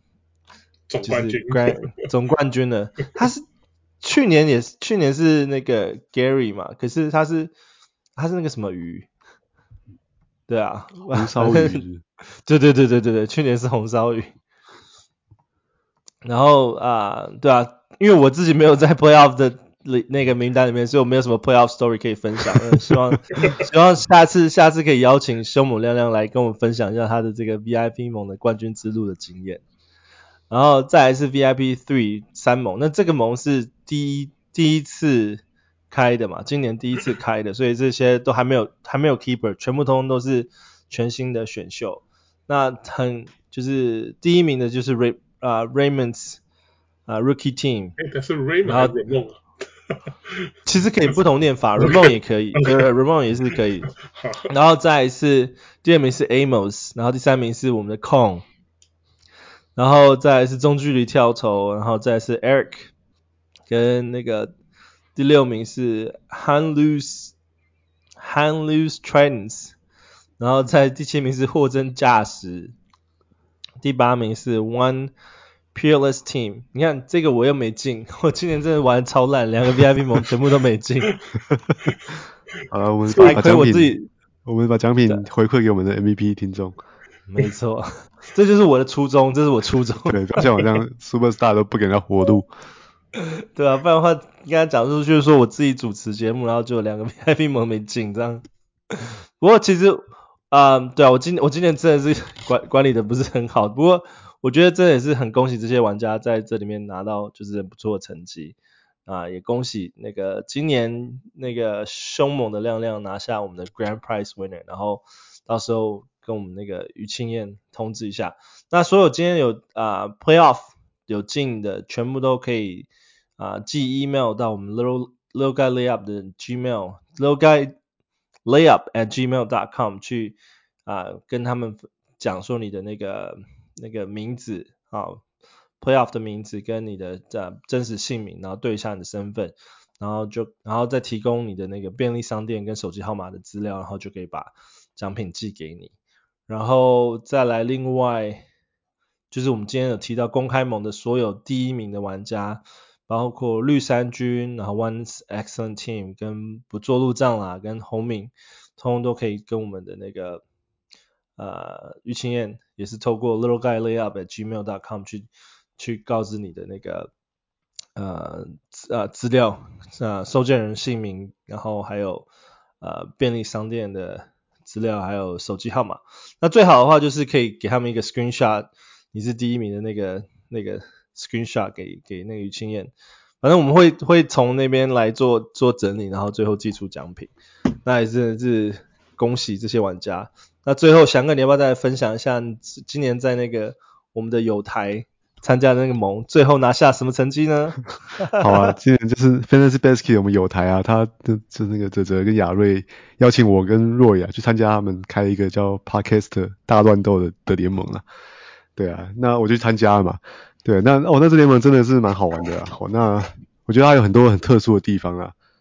總冠軍了。他是去年是那個 Gary 嘛，可是他是那個什麼魚，對啊， 紅燒魚。 對，去年是紅燒魚。然後對啊，因為我自己沒有在 Playoff 的那個名單裡面，所以我沒有什麼 Playoff Story 可以分享。希望下次可以邀請兇猛亮亮來跟我們分享一下他的這個 VIP 盟的冠軍之路的經驗。然後再來是 VIP 3盟，那這個盟是第一次開的嘛，今年第一次開的，所以這些都還沒有 Keeper， 全部通通都是全新的選秀。那就是第一名的就是Raymond's Rookie Team， 但是 Raymond 還是 Ramon 其實可以不同念法，Ramon 也可以，对 Ramon 也是可以。然後再來是第2名是 Amos， 然後第3名是我們的 Kong， 然後再來是中距離跳投，然後再來是 Eric， 跟那個第6名是 Hanlus Tridents， 然後在第7名是貨真價實，第8名是 One Peerless Team。 你看這個我又沒進，我今年真的玩超爛，2個 VIP 盟全部都沒進。 好了，我們把獎品回饋給我們的 MVP 聽眾。 沒錯，這就是我的初衷，這是我初衷。 對，像我這樣 Superstar 都不給人家活路。 對啊，不然的話跟他講出去說我自己主持節目，然後就有2個 VIP 盟沒進這樣。不過其實對啊，我今年真的是管理的不是很好，不過我覺得真的也是很恭喜這些玩家在這裡面拿到就是很不錯的成績也恭喜那個今年那個兇猛的亮亮拿下我們的 Grand Prize Winner， 然後到時候跟我們那個於清燕通知一下。那所有今天有Playoff 有進的全部都可以寄 email 到我們 Little Guy Layup 的 Gmail littleguylayup@gmail.com 去跟他們講說你的那個名字Playoff 的名字跟你的真實姓名，然後對一下你的身份，然後再提供你的那個便利商店跟手機號碼的資料，然後就可以把獎品寄給你。然後再來另外就是我們今天有提到公開盟的所有第1名的玩家，包括綠衫軍，然後 One Excellent Team 跟不做路障啦跟洪敏，通通都可以跟我們的那個於清燕也是透過 littleguylayup@gmail.com 去告知你的那個資料收件人姓名，然後還有便利商店的資料，還有手機號碼。那最好的話就是可以給他們一個 screenshot， 你是第1名的那個 screenshot 給那個於清燕。反正我们會從那邊來做整理，然後最後寄出獎品。那也真的是恭喜這些玩家。那最後翔哥你要不要再分享一下今年在那個我們的友台參加的那個盟最後拿下什麼成績呢？ 好啊，今年就是 Fantasy Basket 我們友台他就那個澤澤跟亞瑞邀請我跟 Roy 去參加他們開一個叫 Podcast 大亂鬥的聯盟對啊，那我就參加了嘛。對，那這聯盟真的是蠻好玩的那我覺得它有很多很特殊的地方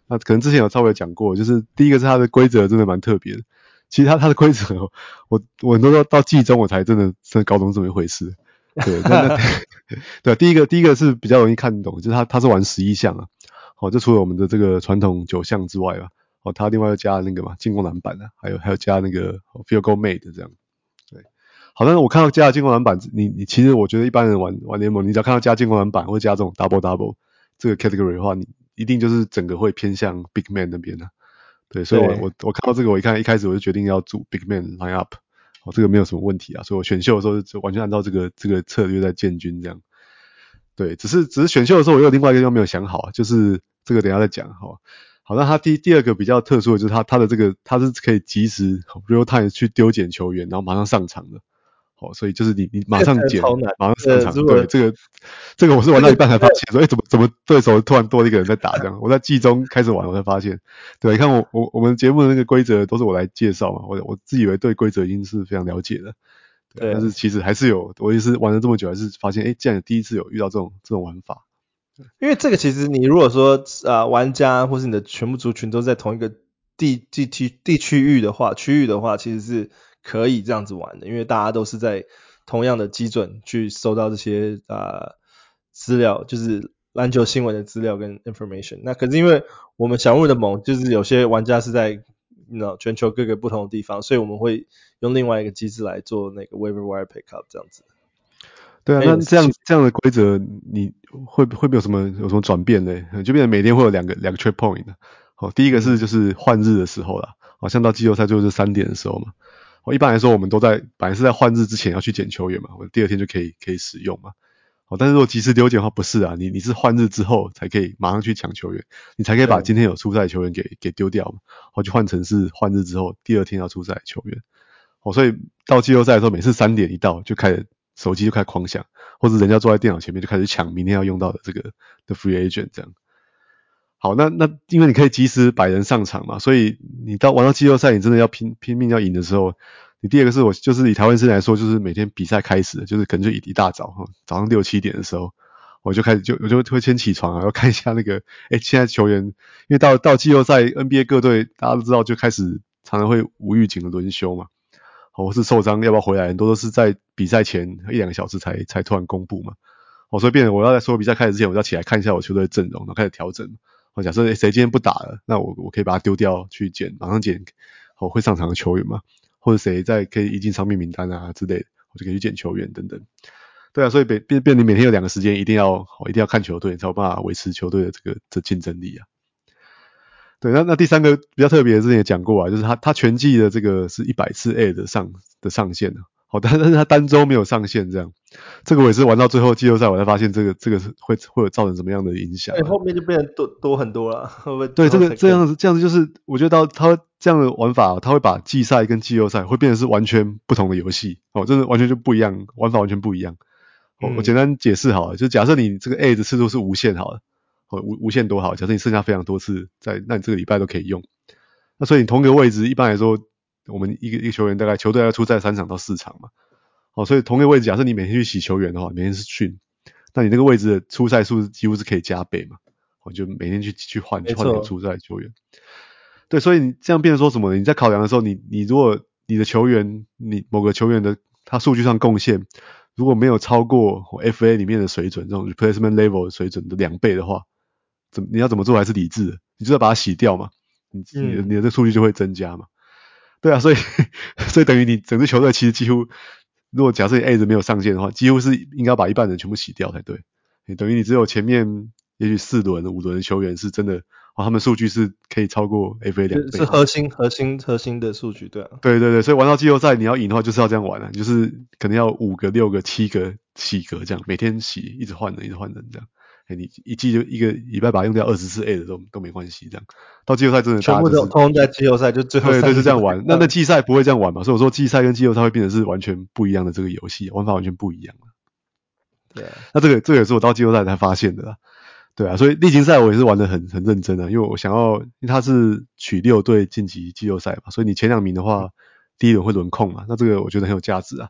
那可能之前有稍微講過，就是第一個是它的規則真的蠻特別的。其實它的規則，我很多到季中我才真的搞懂這麼一回事。對，對，第一個是比較容易看懂，就是它是玩11項啊。好，就除了我们的這個傳統9項之外啊，哦，它另外又加那個嘛進攻籃板啊，還有加那個 field goal made 這樣。對，好，但是我看到加了進攻籃板，你其實我覺得一般人玩聯盟，你只要看到加進攻籃板或加這種 double 這個 category 的話，你一定就是整個會偏向 big man 那邊的。對，所以我看到這個，我一開始我就決定要組 big man line up， 哦，這個沒有什麼問題啊，所以我選秀的時候就完全按照這個策略在建軍這樣。對，只是選秀的時候我有另外一個地方沒有想好，就是這個等一下再講哈。好，那他第二個比較特殊的就是他的這個他是可以即時 real time 去丟撿球員，然後馬上上場的。好，所以就是你馬上撿，馬上上場。對，這個我是玩到一半才發現說，怎麼對手突然多了一個人在打這樣？我在季中開始玩，我才發現。對，你看我們節目的那個規則都是我來介紹嘛，我自以為對規則已經是非常了解的。對，但是其實還是有，我也是玩了這麼久，還是發現，竟然第一次有遇到這種玩法。 因為這個其實你如果說玩家或是你的全部族群都在同一個區域的話，其實是可以這樣子玩的，因為大家都是在同樣的基準去收到這些資料，就是籃球新聞的資料跟 information。那可是因為我們小人物的盟，就是有些玩家是在全球各個不同的地方，所以我們会用另外一個機制來做那個 waiver wire pickup 這樣子。 对啊，那這樣的規則，你會不會有什麼轉變呢？就變成每天會有兩個 trade point 的。好，第一個是就是換日的時候啦，好像到季後賽就是3點的時候嘛。好，一般來說我們本來是在換日之前要去撿球員嘛，我第二天就可以使用嘛。好，但是如果即時丟撿的話不是啊，你是換日之後才可以馬上去搶球員，你才可以把今天有出賽的球員給丟掉嘛。好，就換成是換日之後第二天要出賽的球員。好，所以到季後賽的時候，每次3點一到就開始手機就開始狂響，或者人家坐在電腦前面就開始搶明天要用到的這個的 free agent 這樣。好，那因為你可以及時擺人上場嘛，所以你玩到季後賽，你真的要拼命要贏的時候，你第二個是就是以台灣時間來說，就是每天比賽開始，就是可能就一大早早上6、7點的時候，我就會先起床啊，要看一下那個現在球員，因為到季後賽 NBA 各隊大家都知道就開始常常會無預警的輪休嘛。或是受傷要不要回來，很多都是在比賽前1-2個小時才突然公布嘛。所以變成我要在所有比賽開始之前，我要起來看一下我球隊的陣容，然後開始調整。假設誰今天不打了，那我可以把他丟掉去馬上撿會上場的球員嘛，或者誰可以移進傷病名單啊之類的，我就可以去撿球員等等。對啊，所以變你每天有2個時間，一定要看球隊，才有辦法維持球隊的這競爭力啊。對，那第三個比較特別的，之前也講過啊，就是他全季的這個是100次 A 的上限的，好，但是他單周沒有上限這樣，這個我也是玩到最後季後賽我才發現這個是會有造成什麼樣的影響啊。 後面就變成多很多了，會不會？ 對，這樣子就是我覺得他這樣的玩法，他會把季賽跟季後賽會變成是完全不同的遊戲，真的完全就不一樣，玩法完全不一樣。我簡單解釋好了，就假設你這個 A 的次數是無限好了。無限多好，假設你剩下非常多次那你這個禮拜都可以用。那所以你同一個位置，一般來說，我們一個球員球隊要出賽3場到4場嘛。所以同一個位置，假設你每天去洗球員的話，每天是訓，那你那個位置的出賽數幾乎是可以加倍嘛。就每天去換那個出賽球員。對，所以你這樣變成說什麼呢？你在考量的時候，你如果你的球員，你某個球員的他數據上貢獻，如果沒有超過 FA 裡面的水準，這種 replacement level 的水準的2倍的話，你要怎麼做還是理智的？你就要把它洗掉嘛，你的這個數據就會增加嘛。對啊，所以等於你整支球隊其實幾乎，如果假設你 A 沒有上限的話，幾乎是應該把一半人全部洗掉才對。等於你只有前面也許4輪、5輪的球員是真的，他們數據是可以超過 FA 2倍， 是核心的數據，對啊。 對，所以玩到季後賽你要贏的話，就是要這樣玩啊，就是可能要5個、6個、7個洗格這樣，每天洗，一直換人這樣。你一季就一個禮拜把它用掉20次 A 的都沒關係，這樣到季後賽真的全部都通在季後賽就最後對就這樣玩。那季賽不會這樣玩嘛？所以我說季賽跟季後賽會變成是完全不一樣的這個遊戲，玩法完全不一樣。 對啊， 那這個也是我到季後賽才發現的啦。對啊，所以例行賽我也是玩得很認真啊，因為我想要，因為它是取6隊晉級季後賽嘛，所以你前2名的話，第一輪會輪空嘛，那這個我覺得很有價值啊。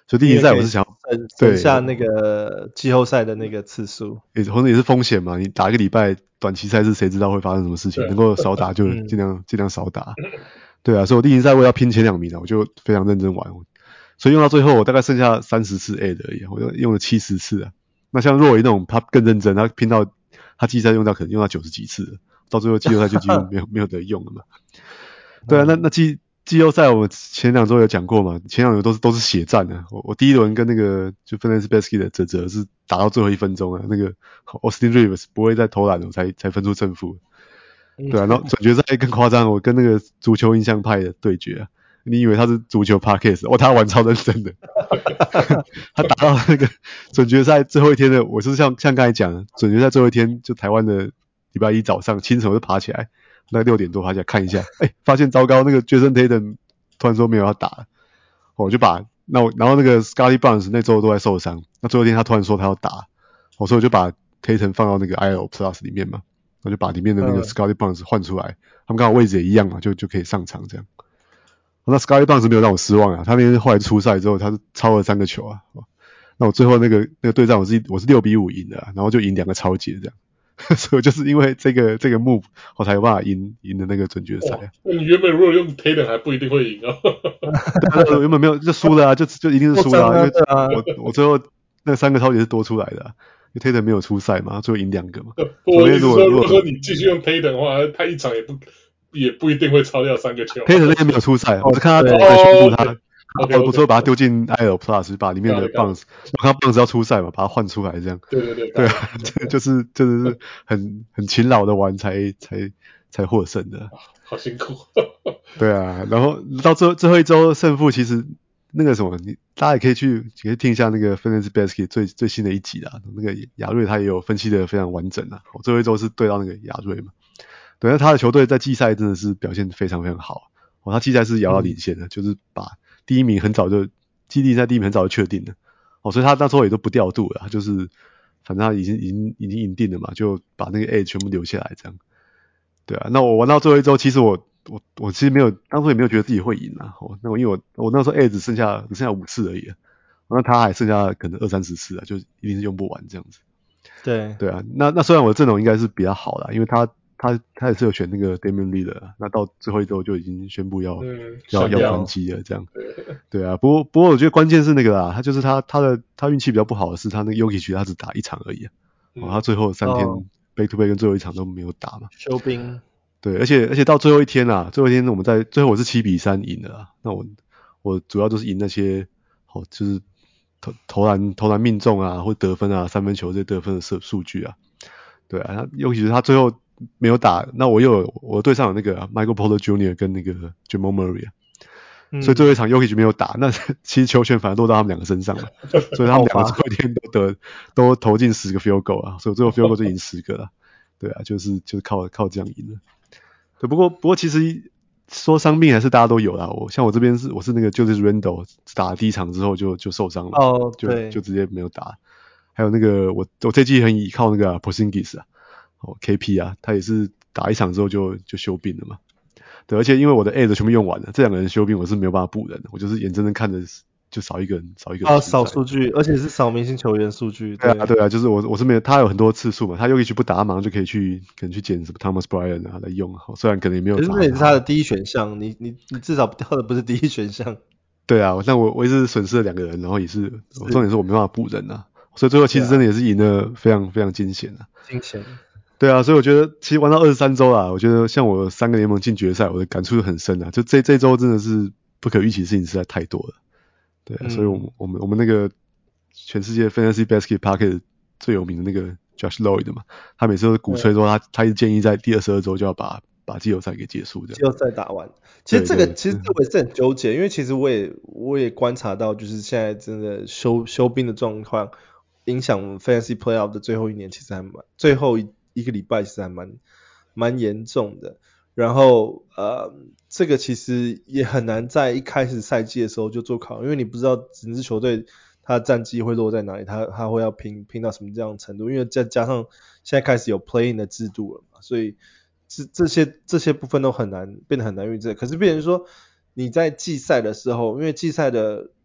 所以例行賽我是想要省下那個季後賽的那個次数， 或者也是風險嘛。你打一個禮拜短期賽事，誰知道會發生什麼事情？能夠少打就盡量少打。對啊，所以我例行賽我要拼前2名啊，我就非常認真玩。所以用到最後，我大概剩下30次 A 的而已，我用了70次啊。那像若維那種，他更認真，他拼到他季賽用到可能用到90幾次了，到最後季後賽就幾乎沒有得用了嘛。對啊，那季後賽我們前2周有講過嘛，前2周都是血戰的。我第一輪跟那個就 Fantasy Basket 的澤是打到最後1分鐘啊，那個 Austin Reeves 不會再投籃了，才分出勝負。對啊，然後準決賽更誇張，我跟那個足球印象派的對決啊。你以為他是足球 podcast， 他玩超認真的。他打到那個準決賽最後一天的，我是像剛才講的，準決賽最後一天，就台灣的禮拜一早上清晨我就爬起來，那個6點多爬起來看一下，發現糟糕，那個 Jason Tatum 突然說沒有要打了，我就然後那個 Scottie Barnes 那周都在受傷，那最後一天他突然說他要打，所以我就把 Tatum 放到那個 IL Plus 裡面嘛，我就把裡面的那個 Scottie Barnes 換出來，他們剛好位置也一樣嘛，就可以上場這樣。那 Scottie Barnes 沒有讓我失望啊，他那天後來出賽之後，他是超了3個球啊。那我最後那個對戰我是6比5贏的啊，然後就贏2個超級這樣，所以我就是因為這個 move 我才有辦法贏的那個準決賽啊。 你原本如果用 Tatum 還不一定會贏哦。 對，原本沒有就輸了啊，就一定是輸了啊，因為我最後那3個超級是多出來的啊，因為 Tatum 沒有出賽嘛，最後贏2個嘛。 我意思說，如果說你繼續用 Tatum 的話，他一场也不一定會超掉3個球。 Tatum 那天沒有出賽，我是看他怎麼宣布他。我最後把他丟進 IL Plus， 把裡面的 Barnes， 我看他 Barnes 要出賽嘛，把他換出來這樣。對啊，就是很勤勞的玩才獲勝的。 好辛苦。 对啊，然後到最後一周勝負，其實那個什麼，大家也可以聽一下那個 Fantasy Basket 最新的一集啦。那個亞瑞他也有分析的非常完整啊。最後一周是對到那個亞瑞嘛。對，那他的球隊在季賽真的是表現非常非常好。他季賽是遙遙領先的，就是把第一名很早就季地賽第一名很早就確定了。所以他那時候也都不調度了，他就是反正他已經贏定了嘛，就把那個 A 全部留下來這樣。對啊，那我玩到最後一周，其實我其實當初也沒有覺得自己會贏啊。那因為我那時候 A 只剩下5次而已啊，那他還剩下可能20-30次啊，就一定是用不完這樣子。對啊，那雖然我的陣容應該是比較好啦，因為他也是有選那個 Damian Lillard， 那到最後一周就已經宣布要關機了這樣。對啊，不過我覺得關鍵是那個啦，他運氣比較不好的是他那個 Jokic 他只打1場而已啊，他最後3天 back to back 跟最後1場都沒有打嘛， 休兵。 對，而且到最後一天我是7比3贏的啊，那我主要就是贏那些就是投籃命中啊，或得分啊，3分球這些得分的數據啊。對啊，尤其是他最後沒有打，那我隊上有那個Michael Porter Jr. 跟那個 Jamal Murray 啊，所以最後一場 Jokic 沒有打，那其實球權反而落到他們2個身上了，所以他們2個最後一天都投進10個 field goal 啊，所以最後 field goal 就贏10個了。對啊，就是靠這樣贏的。對，不過其實說傷病還是大家都有啦，像我這邊我是那個就是 Randle 打了第1場之後就受傷了，就直接沒有打。還有那個我這季很依靠那個Porzingis 啊，KP 啊，他也是打1場之後就休兵了嘛。對，而且因為我的 A 的全部用完了，這2個人休兵我是沒有辦法補人的，我就是眼睜睜看着就少一個人。 少數據，而且是少明星球員數據。 對啊，就是我是沒有，他有很多次數嘛，他Jokic不打，他馬上就可以去撿什麼 Thomas Bryant 啊來用，雖然可能也沒有打。可是那也是他的第一選項，你至少掉的不是第一選項。对啊，但我一直損失了2個人，然後也是重點是我沒辦法補人啊。所以最後其實真的也是贏得非常非常驚險啊！ 驚險。 對啊，所以我覺得其實玩到23周啦，我覺得像我3個聯盟進決賽，我的感觸很深啊。就這周真的是不可預期的事情實在太多了。對啊，所以我們那個全世界 Fantasy Basket Podcast 最有名的那個 Josh Lloyd 嘛，他每次都鼓吹說他一直建議在第22周就要把季後賽給結束的。 季后賽打完。其實這個我也是很糾結，因為其實我也觀察到，就是現在真的休兵的狀況。影響 Fantasy Playoff 的最後一年，其實最後一個禮拜其實還蠻嚴重的。然後這個其實也很難在一開始賽季的時候就做考量，因為你不知道整支球隊它的戰績會落在哪裡，它會要拼到什麼這樣的程度。因為再加上現在開始有 Play-in 的制度了嘛，所以這些部分都變得很難預測。可是變成說你在季賽的時候，因為季賽的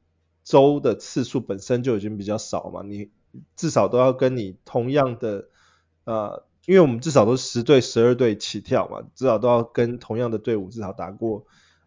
周的次數本身就已經比較少嘛，你至少都要跟你同樣的因為我們至少都是10隊12隊起跳嘛，至少都要跟同樣的隊伍至少打過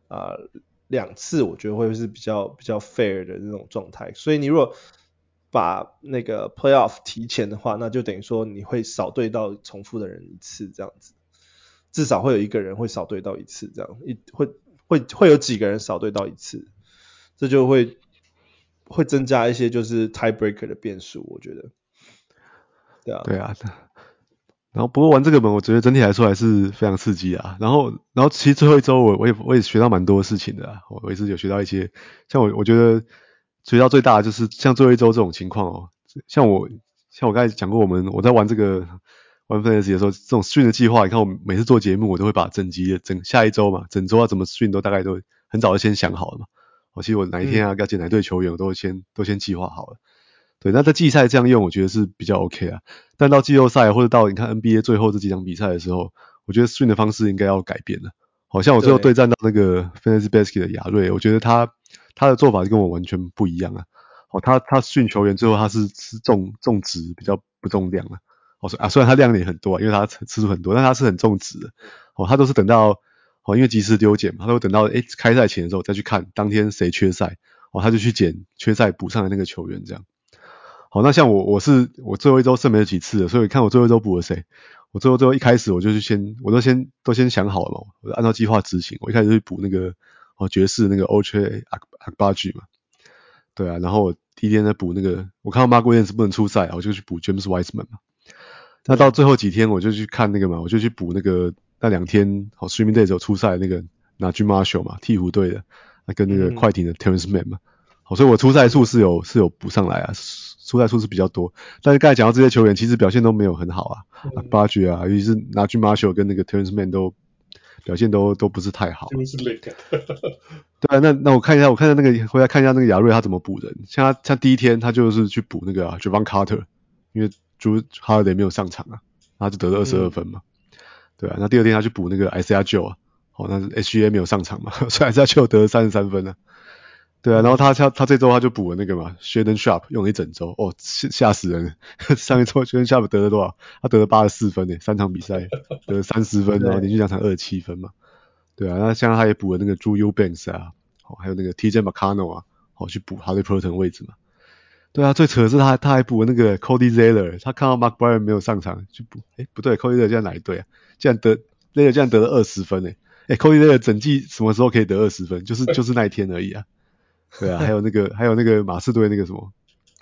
2次，我覺得會是比較 fair 的那種狀態。所以你如果把那個 playoff 提前的話，那就等於說你會少對到重複的人一次這樣子，至少會有一個人會少對到一次這樣，會有幾個人少对到一次，這就會增加一些就是 tiebreaker 的變數，我覺得。 对啊。然后不過玩这個本，我覺得整體來說還是非常刺激啊。然後其實最後一周我也學到蠻多事情的啊，我也是有學到一些，像我覺得學到最大的就是像最後一周這種情況哦，像我剛才講過，我在玩這個玩 Fantasy 的時候，這種 stream 的計劃，你看我每次做節目，我都會把整下一周嘛，整周要怎麼 stream 都大概都很早就先想好了嘛。其實我哪一天要接哪隊球員，我都先計劃好了。對，那在季賽這樣用，我覺得是比較 OK 啊。但到季後賽或者到你看 NBA 最後這幾場比賽的時候，我覺得 stream 的方式應該要改變了。好像我最後對戰到那個 Fantasy Basket 的亞瑞，我覺得他的做法就跟我完全不一樣啊。他 stream 球員最後他是重質比較不重量啊。雖然他量也很多啊，因為他次數很多，但他是很重質的。他都是等到因為及時丟減嘛，他都等到開賽前的時候再去看當天誰缺賽，他就去撿缺賽補上的那個球員這樣。好，那像我最後一周剩沒幾次了，所以看我最後一周補了誰。我最後一開始我都先想好了嘛，我就按照計劃執行。我一開始就去補那個爵士那個 Ochai Agbaji 嘛，對啊，然後我第一天再補那個，我看到 Mark Williams 不能出賽，我就去補 James Wiseman 嘛。那到最後幾天我就去看那個嘛，我就去補那個那2天Streaming Days 有出賽那個 Najee Marshall 嘛，鹈鶘隊的，跟那個快艇的 Terrence Mann 嘛。好，所以我出賽數是有補上來啊。出賽數是比較多，但是剛才講到這些球員其實表現都沒有很好啊，Agbaji 啊，尤其是Najee Marshall跟那個 Terrence Mann 都表現都不是太好。對啊，那我看一下那個回來看一下那個亞瑞他怎麼補人，像第一天他就是去補那個Javon Carter， 因為Jrue Holiday 沒有上場啊，他就得了22分嘛。對啊，那第二天他去補那個 Isaiah Joe 啊，那是 SGA 沒有上場嘛，所以 Isaiah Joe 得了33分啊。對啊，然後他這周他就補了那個嘛 Shaedon Sharpe 用了一整周，嚇死人了。上一周 Shaedon Sharpe 得了多少？他得了84分3場比賽得了30分，然後連續2場27分嘛。對啊，那像他也補了那個 Drew Eubanks 啊，還有那個 TJ McConnell 啊，去補 Haliburton 位置嘛。對啊，最扯的是他還補了那個 Cody Zeller， 他看到 Mark Bryan 沒有上場去補，不對 ，Cody Zeller 現在哪一隊啊？Zeller 竟然得了20分，Cody Zeller 整季什麼時候可以得20分？就是那一天而已啊。對啊，還有那個馬刺隊那個什麼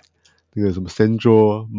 Sandro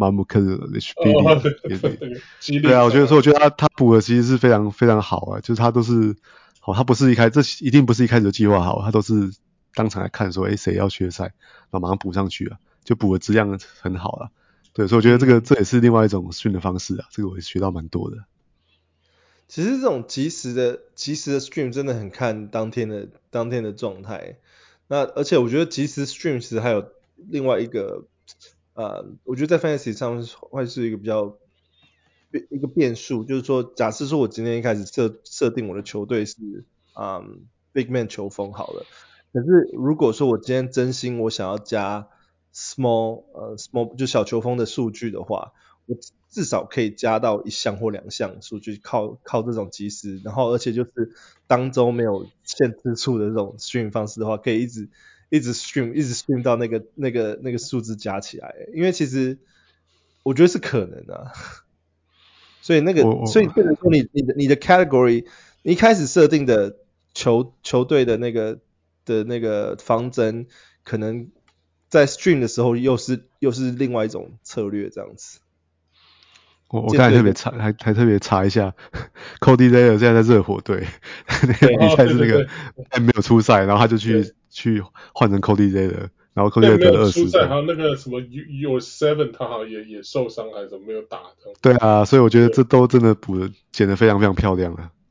Mamukelashvili，對啊，我覺得他補的其實是非常非常好啊，就是他都是他不是這一定不是一開始就計劃好，他都是當場來看說誰要缺賽，然後馬上補上去啊，就補的質量很好啊。對，所以我覺得這也是另外一種訓的方式啊，這個我也學到蠻多的。 其實這種即時的 stream 真的很看當天的狀態。那而且我覺得即時 stream 其實還有另外一個我覺得在 Fantasy 上會是一個比較一個變數，就是說假設說我今天一開始設定我的球隊是Big Man 球風好了，可是如果說我今天真心我想要加 small 就小球風的數據的話，我至少可以加到1項或2項數據，靠這種即時，然後而且就是當周沒有限次數的這種 stream 方式的話，可以一直 stream 到那個數字加起來，因為其實我覺得是可能的啊。所以所以变成说你的 category， 你一開始設定的球隊的那個方針，可能在 stream 的時候又是另外一種策略這樣子。 我剛才特別查一下，Cody Zeller 現在在熱火隊，那個比賽是那個沒有出賽，然後他就去換成 Cody Zeller， 然後 Cody Zeller 得了20分。 還有那個什麼 Your Seven 他好像也受傷還是沒有打的。 對啊，所以我覺得這都真的剪得非常非常漂亮啊。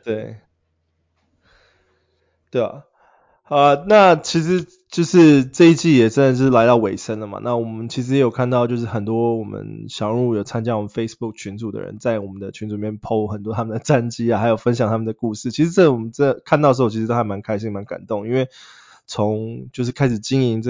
對啊。那其實就是這一季也真的是來到尾聲了嘛。那我們其實也有看到，就是很多我們小人物有參加我們 Facebook 群組的人，在我們的群組裡面 po 很多他們的戰績啊，還有分享他們的故事。其實我們看到的時候，其實都還蠻開心、蠻感動，因為從就是開始經營這個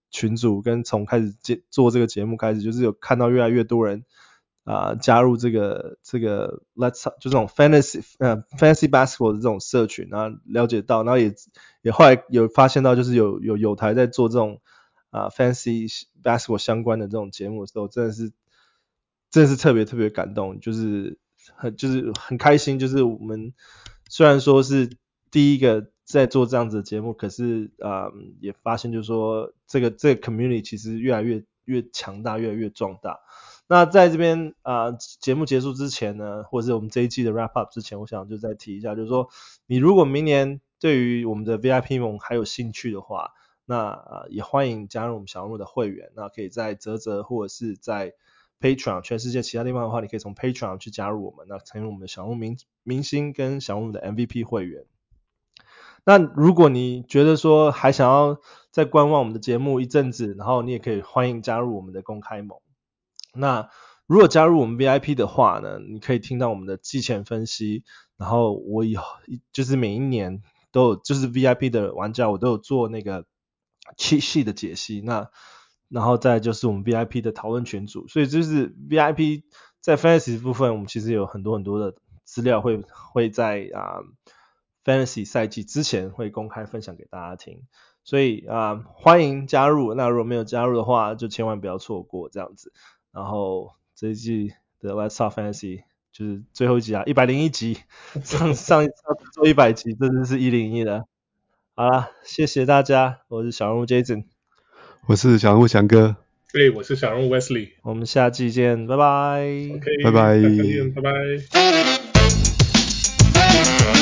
群組跟從開始做這個節目開始，就是有看到越來越多人加入這個 Let's Talk 就這種 Fantasy Basketball 的這種社群，然後了解到，然後也後來有發現到，就是有台在做這種Fantasy Basketball 相關的這種節目的時候，真的是特別感動，就是很開心，就是我們雖然說是第一個在做這樣子的節目，可是也發現就是說這個 community 其實越來越強大，越来越壯大。那在這邊節目結束之前呢，或者是我們這一季的 wrap up 之前，我想就再提一下，就是說你如果明年對於我們的 VIP 盟還有興趣的話，那也歡迎加入我們小人物的會員，那可以在嘖或者是在 Patreon 全世界其他地方的話，你可以從 Patreon 去加入我們，那成為我們的小人物明星跟小人物的 MVP 會員。那如果你覺得說還想要再觀望我們的節目一陣子，然後你也可以歡迎加入我們的公開盟。那如果加入我們 VIP 的話呢，你可以聽到我們的季前分析，然後我就是每一年都有，就是 VIP 的玩家我都有做那個cheat sheet的解析，那然後再就是我們 VIP 的討論群組，所以就是 VIP 在 Fantasy 部分，我們其實有很多的資料會在Fantasy 賽季之前會公開分享給大家聽，所以歡迎加入。那如果沒有加入的話，就千萬不要錯過這樣子。然後這一季的 Let's Talk Fantasy 就是最後一集101集，上一次做100集，这真是101了。好啦，謝謝大家，我是小人物 Jason， 我是小人物翔哥， 我是小人物 Wesley， 我們下季見，拜拜。 OK， 拜拜， 拜拜。